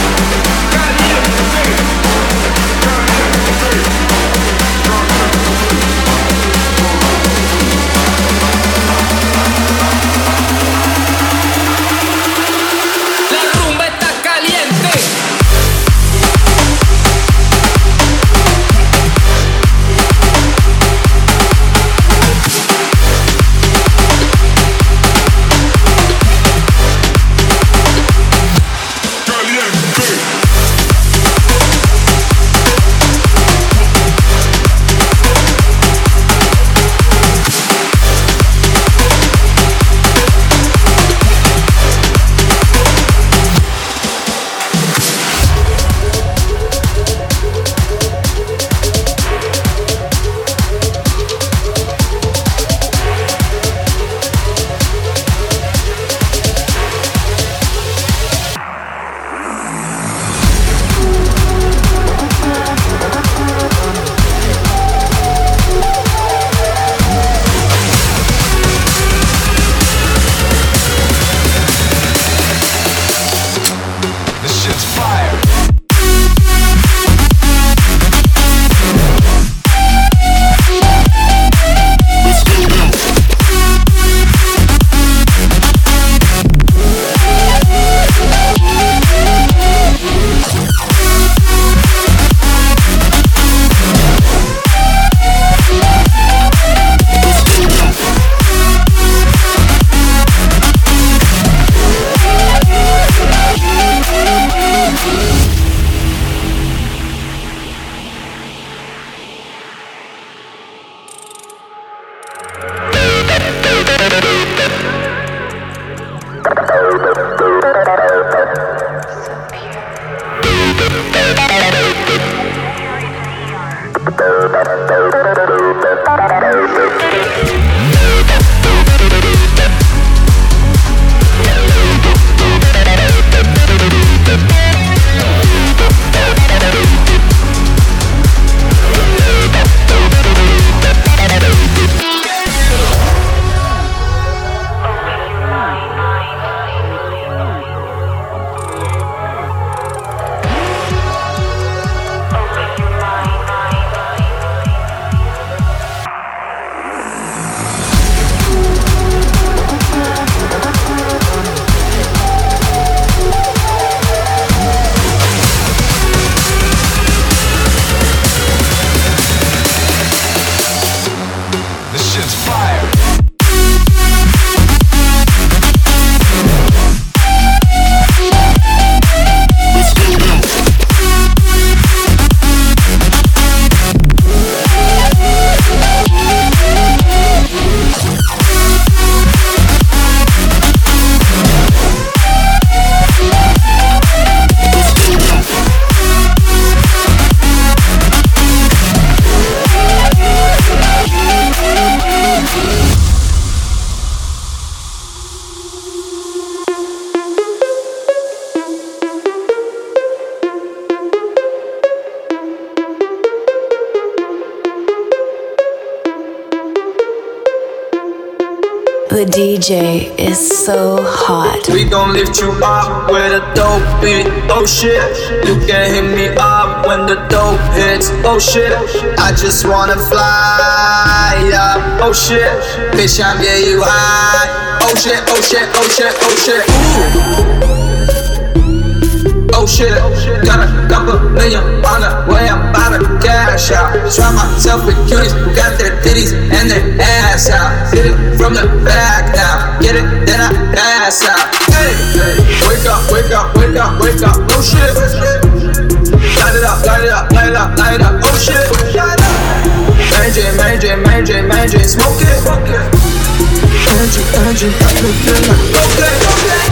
la rumba está caliente. This shit's fire. This shit's fire. The DJ is so hot. We gon' lift you up with a dope beat. Oh shit, you can hit me up when the dope hits. Oh shit, I just wanna fly up. Oh shit, bitch, I'm getting you high. Oh shit, oh shit, oh shit, oh shit. Ooh. Oh shit, got a couple million on the way, I'm about to cash out. Try myself with cuties who got their titties and their ass out. Hit it from the back now, get it, then I pass out. Hey, where Wake up, wake up, wake up, wake up, oh shit. Light it up, light it up, light it up, light it up, oh shit. Mary Jane, smoke it. Energy, okay.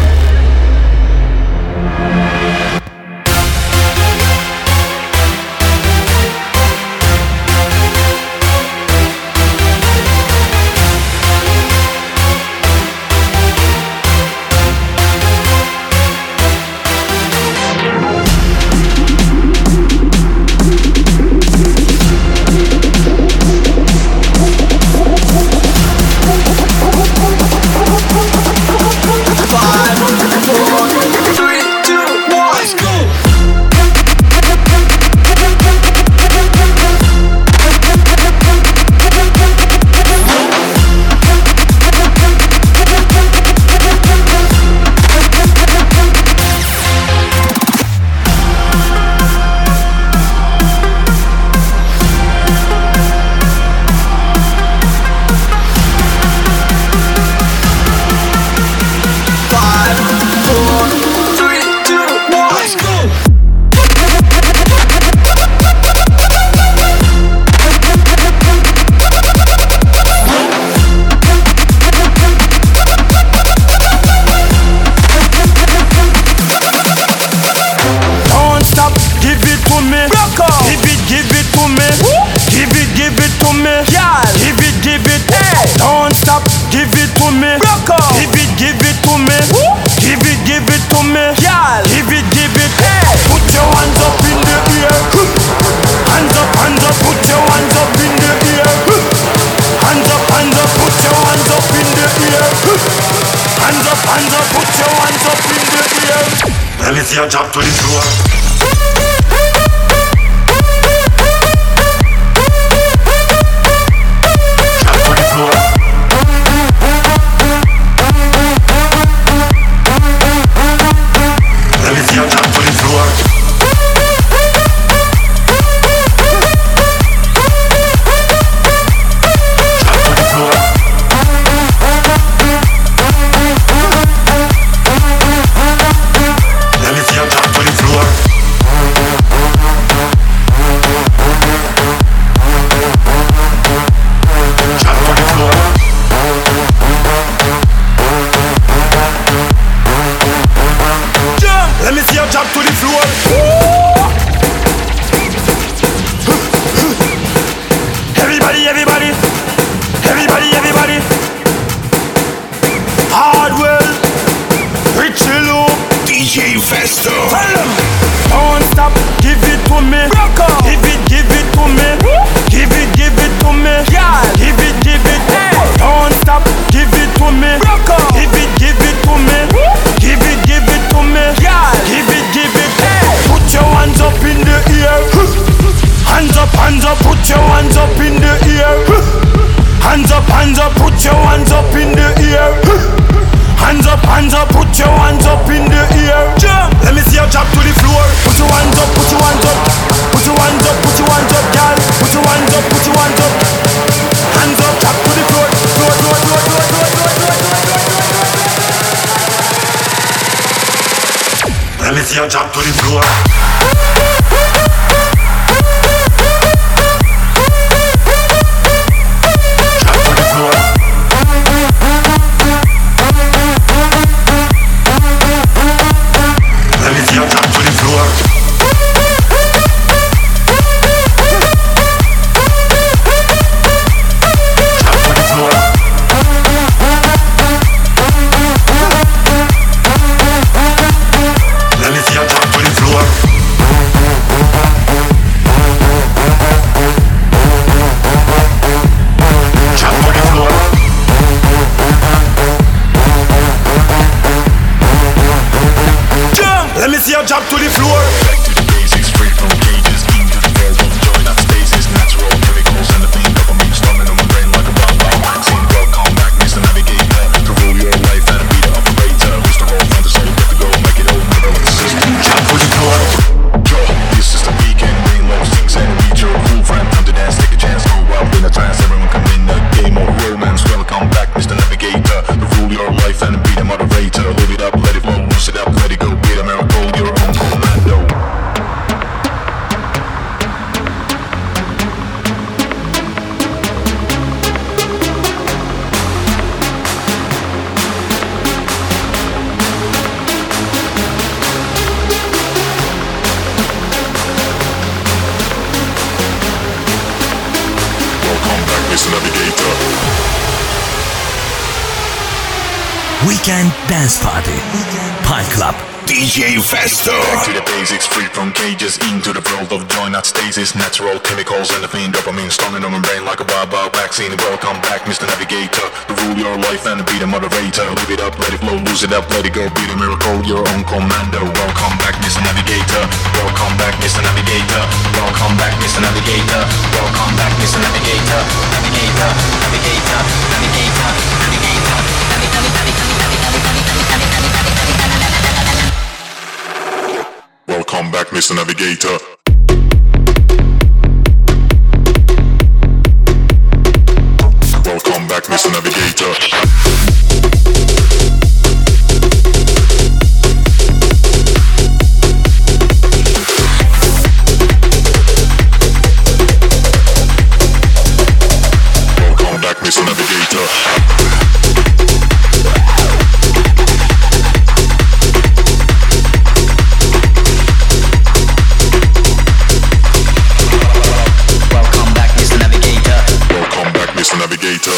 Jump to the floor. Jump to the floor. Jump to the floor. Back to the basics, straight from cages, into the world of joy, not stasis, natural chemicals and the thing dopamine storming on my brain like a bomb. Vaccine, welcome back, Mr. Navigator, to rule your life and be the operator. Who's the role from the soul, get to go, make it all never let the system. Jump to the floor. This is the weekend, rain low, things and reach your cool friend, time to dance, take a chance, go out in a trance, everyone come in a game of romance. Welcome back, Mr. Navigator, to rule your life and be the moderator. Hold it up, let it flow, loose it up. Weekend Dance Party. Pine Club. DJ Festo. Back to the basics, free from cages, into the world of joy, not stasis. Natural chemicals and the fiend dopamine, stunning on my brain like a wild vaccine. Welcome back, Mr. Navigator. To rule your life and be the moderator. Live it up, let it flow, lose it up, let it go. Be the miracle, your own commander. Welcome back, Mr. Navigator. Welcome back, Mr. Navigator. Welcome back, Mr. Navigator. Welcome back, Mr. Navigator. Navigator, navigator, navigator, navigator, Welcome back, Mr. Navigator. Welcome back, Mr. Navigator. Welcome back, Mr. Navigator. Navigator.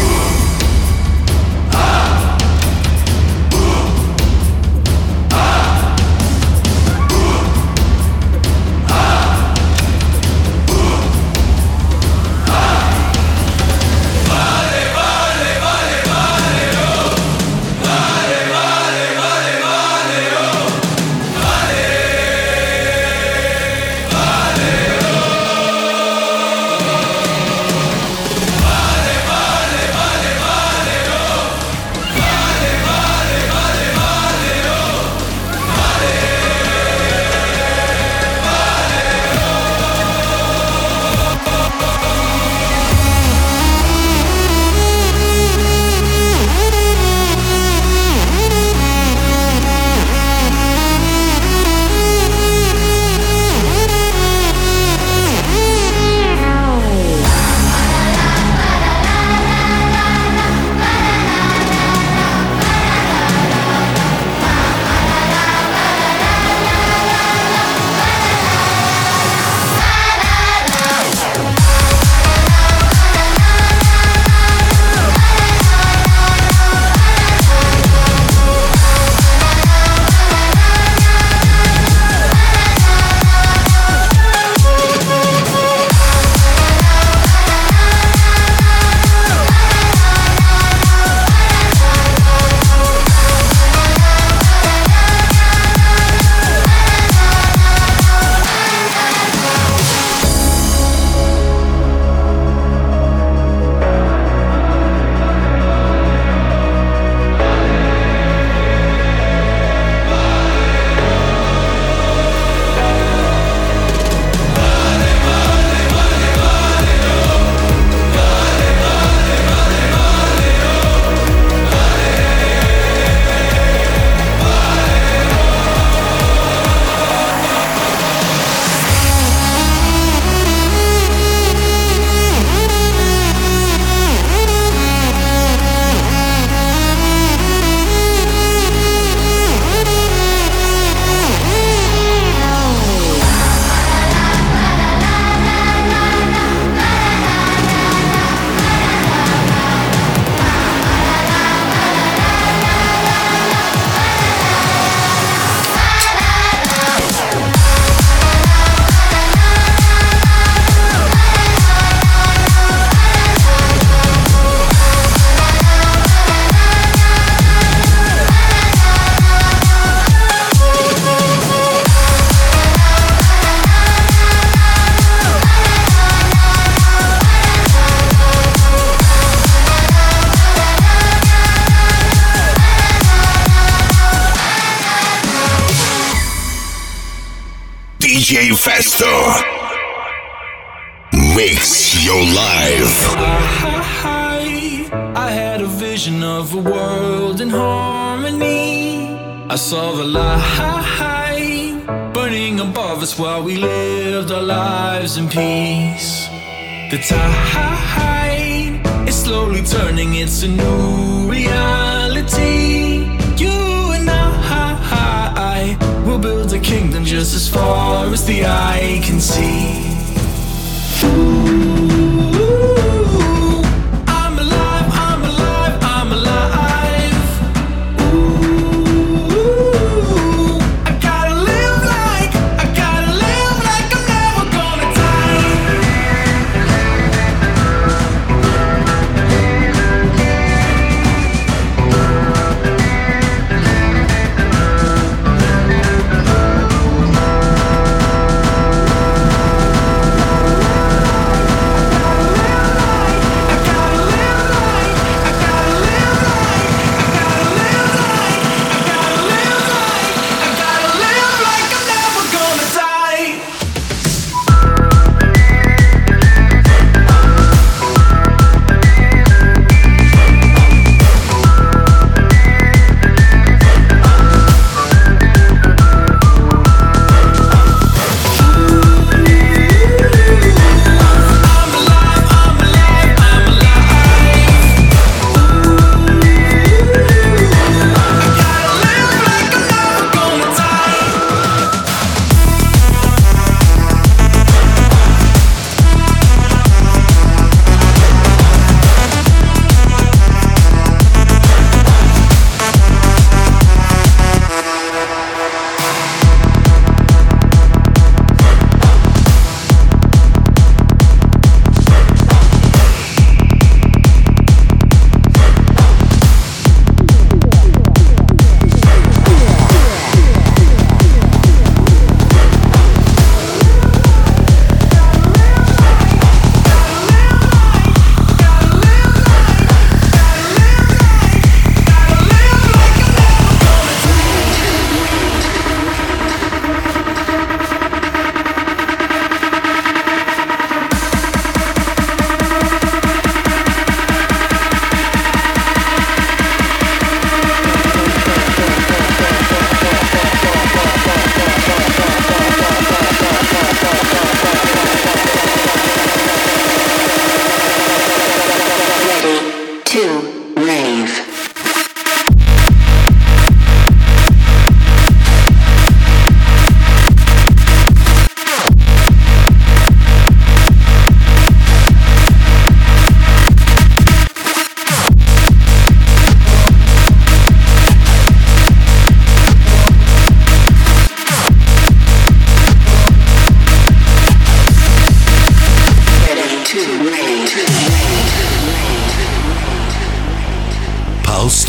DJ Festo. Mix your life. I had a vision of a world in harmony. I saw the light burning above us while we lived our lives in peace. The tide is slowly turning, it's a new reality. You and I will build a kingdom just as far as the eye can see. Ooh, I'm alive, I'm alive, I'm alive.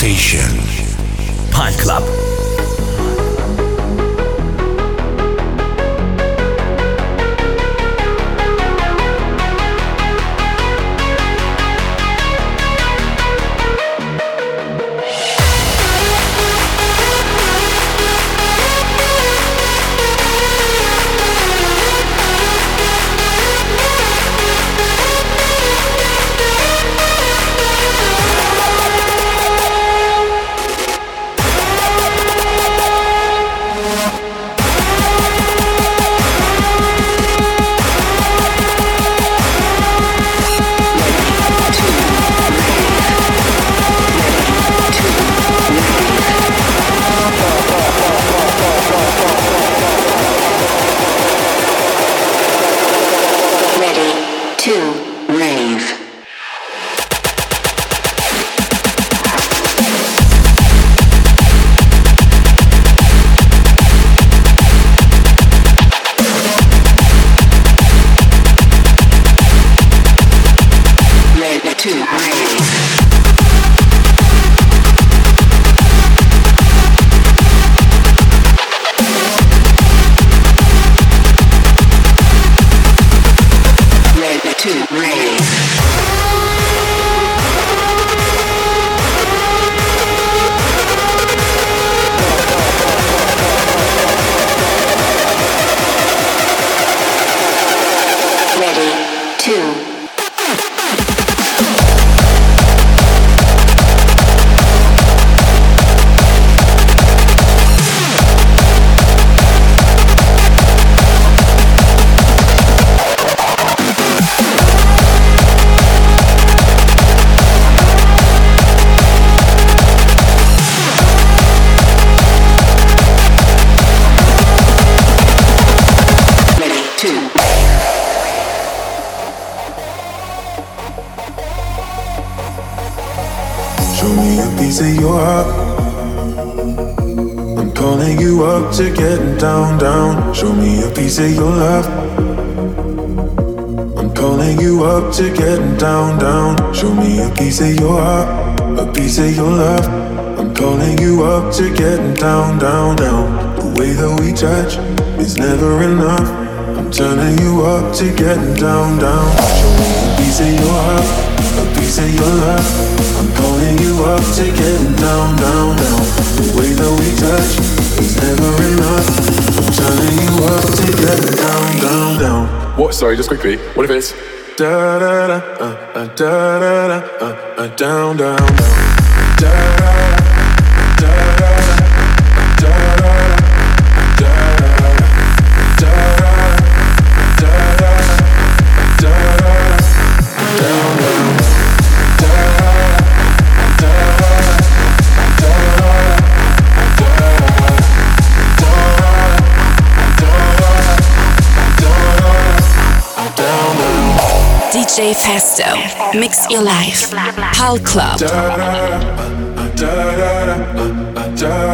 Station. Pulse Club. Show me a piece of your heart. I'm calling you up to getting down, down. Show me a piece of your love. I'm calling you up to getting down, down. Show me a piece of your heart, a piece of your love. I'm calling you up to getting down, down, down. The way that we touch is never enough. I'm turning you up to getting down, down. Show me a piece of your heart, a piece of your love. I'm calling you up to getting down, down, down. The way that we touch is never enough. I'm turning you up to getting down, down, down. What? Sorry, just quickly. What if it's da da da da da da down, down, down. Da da da da. DJ Festo, mix your life. Pulse Club.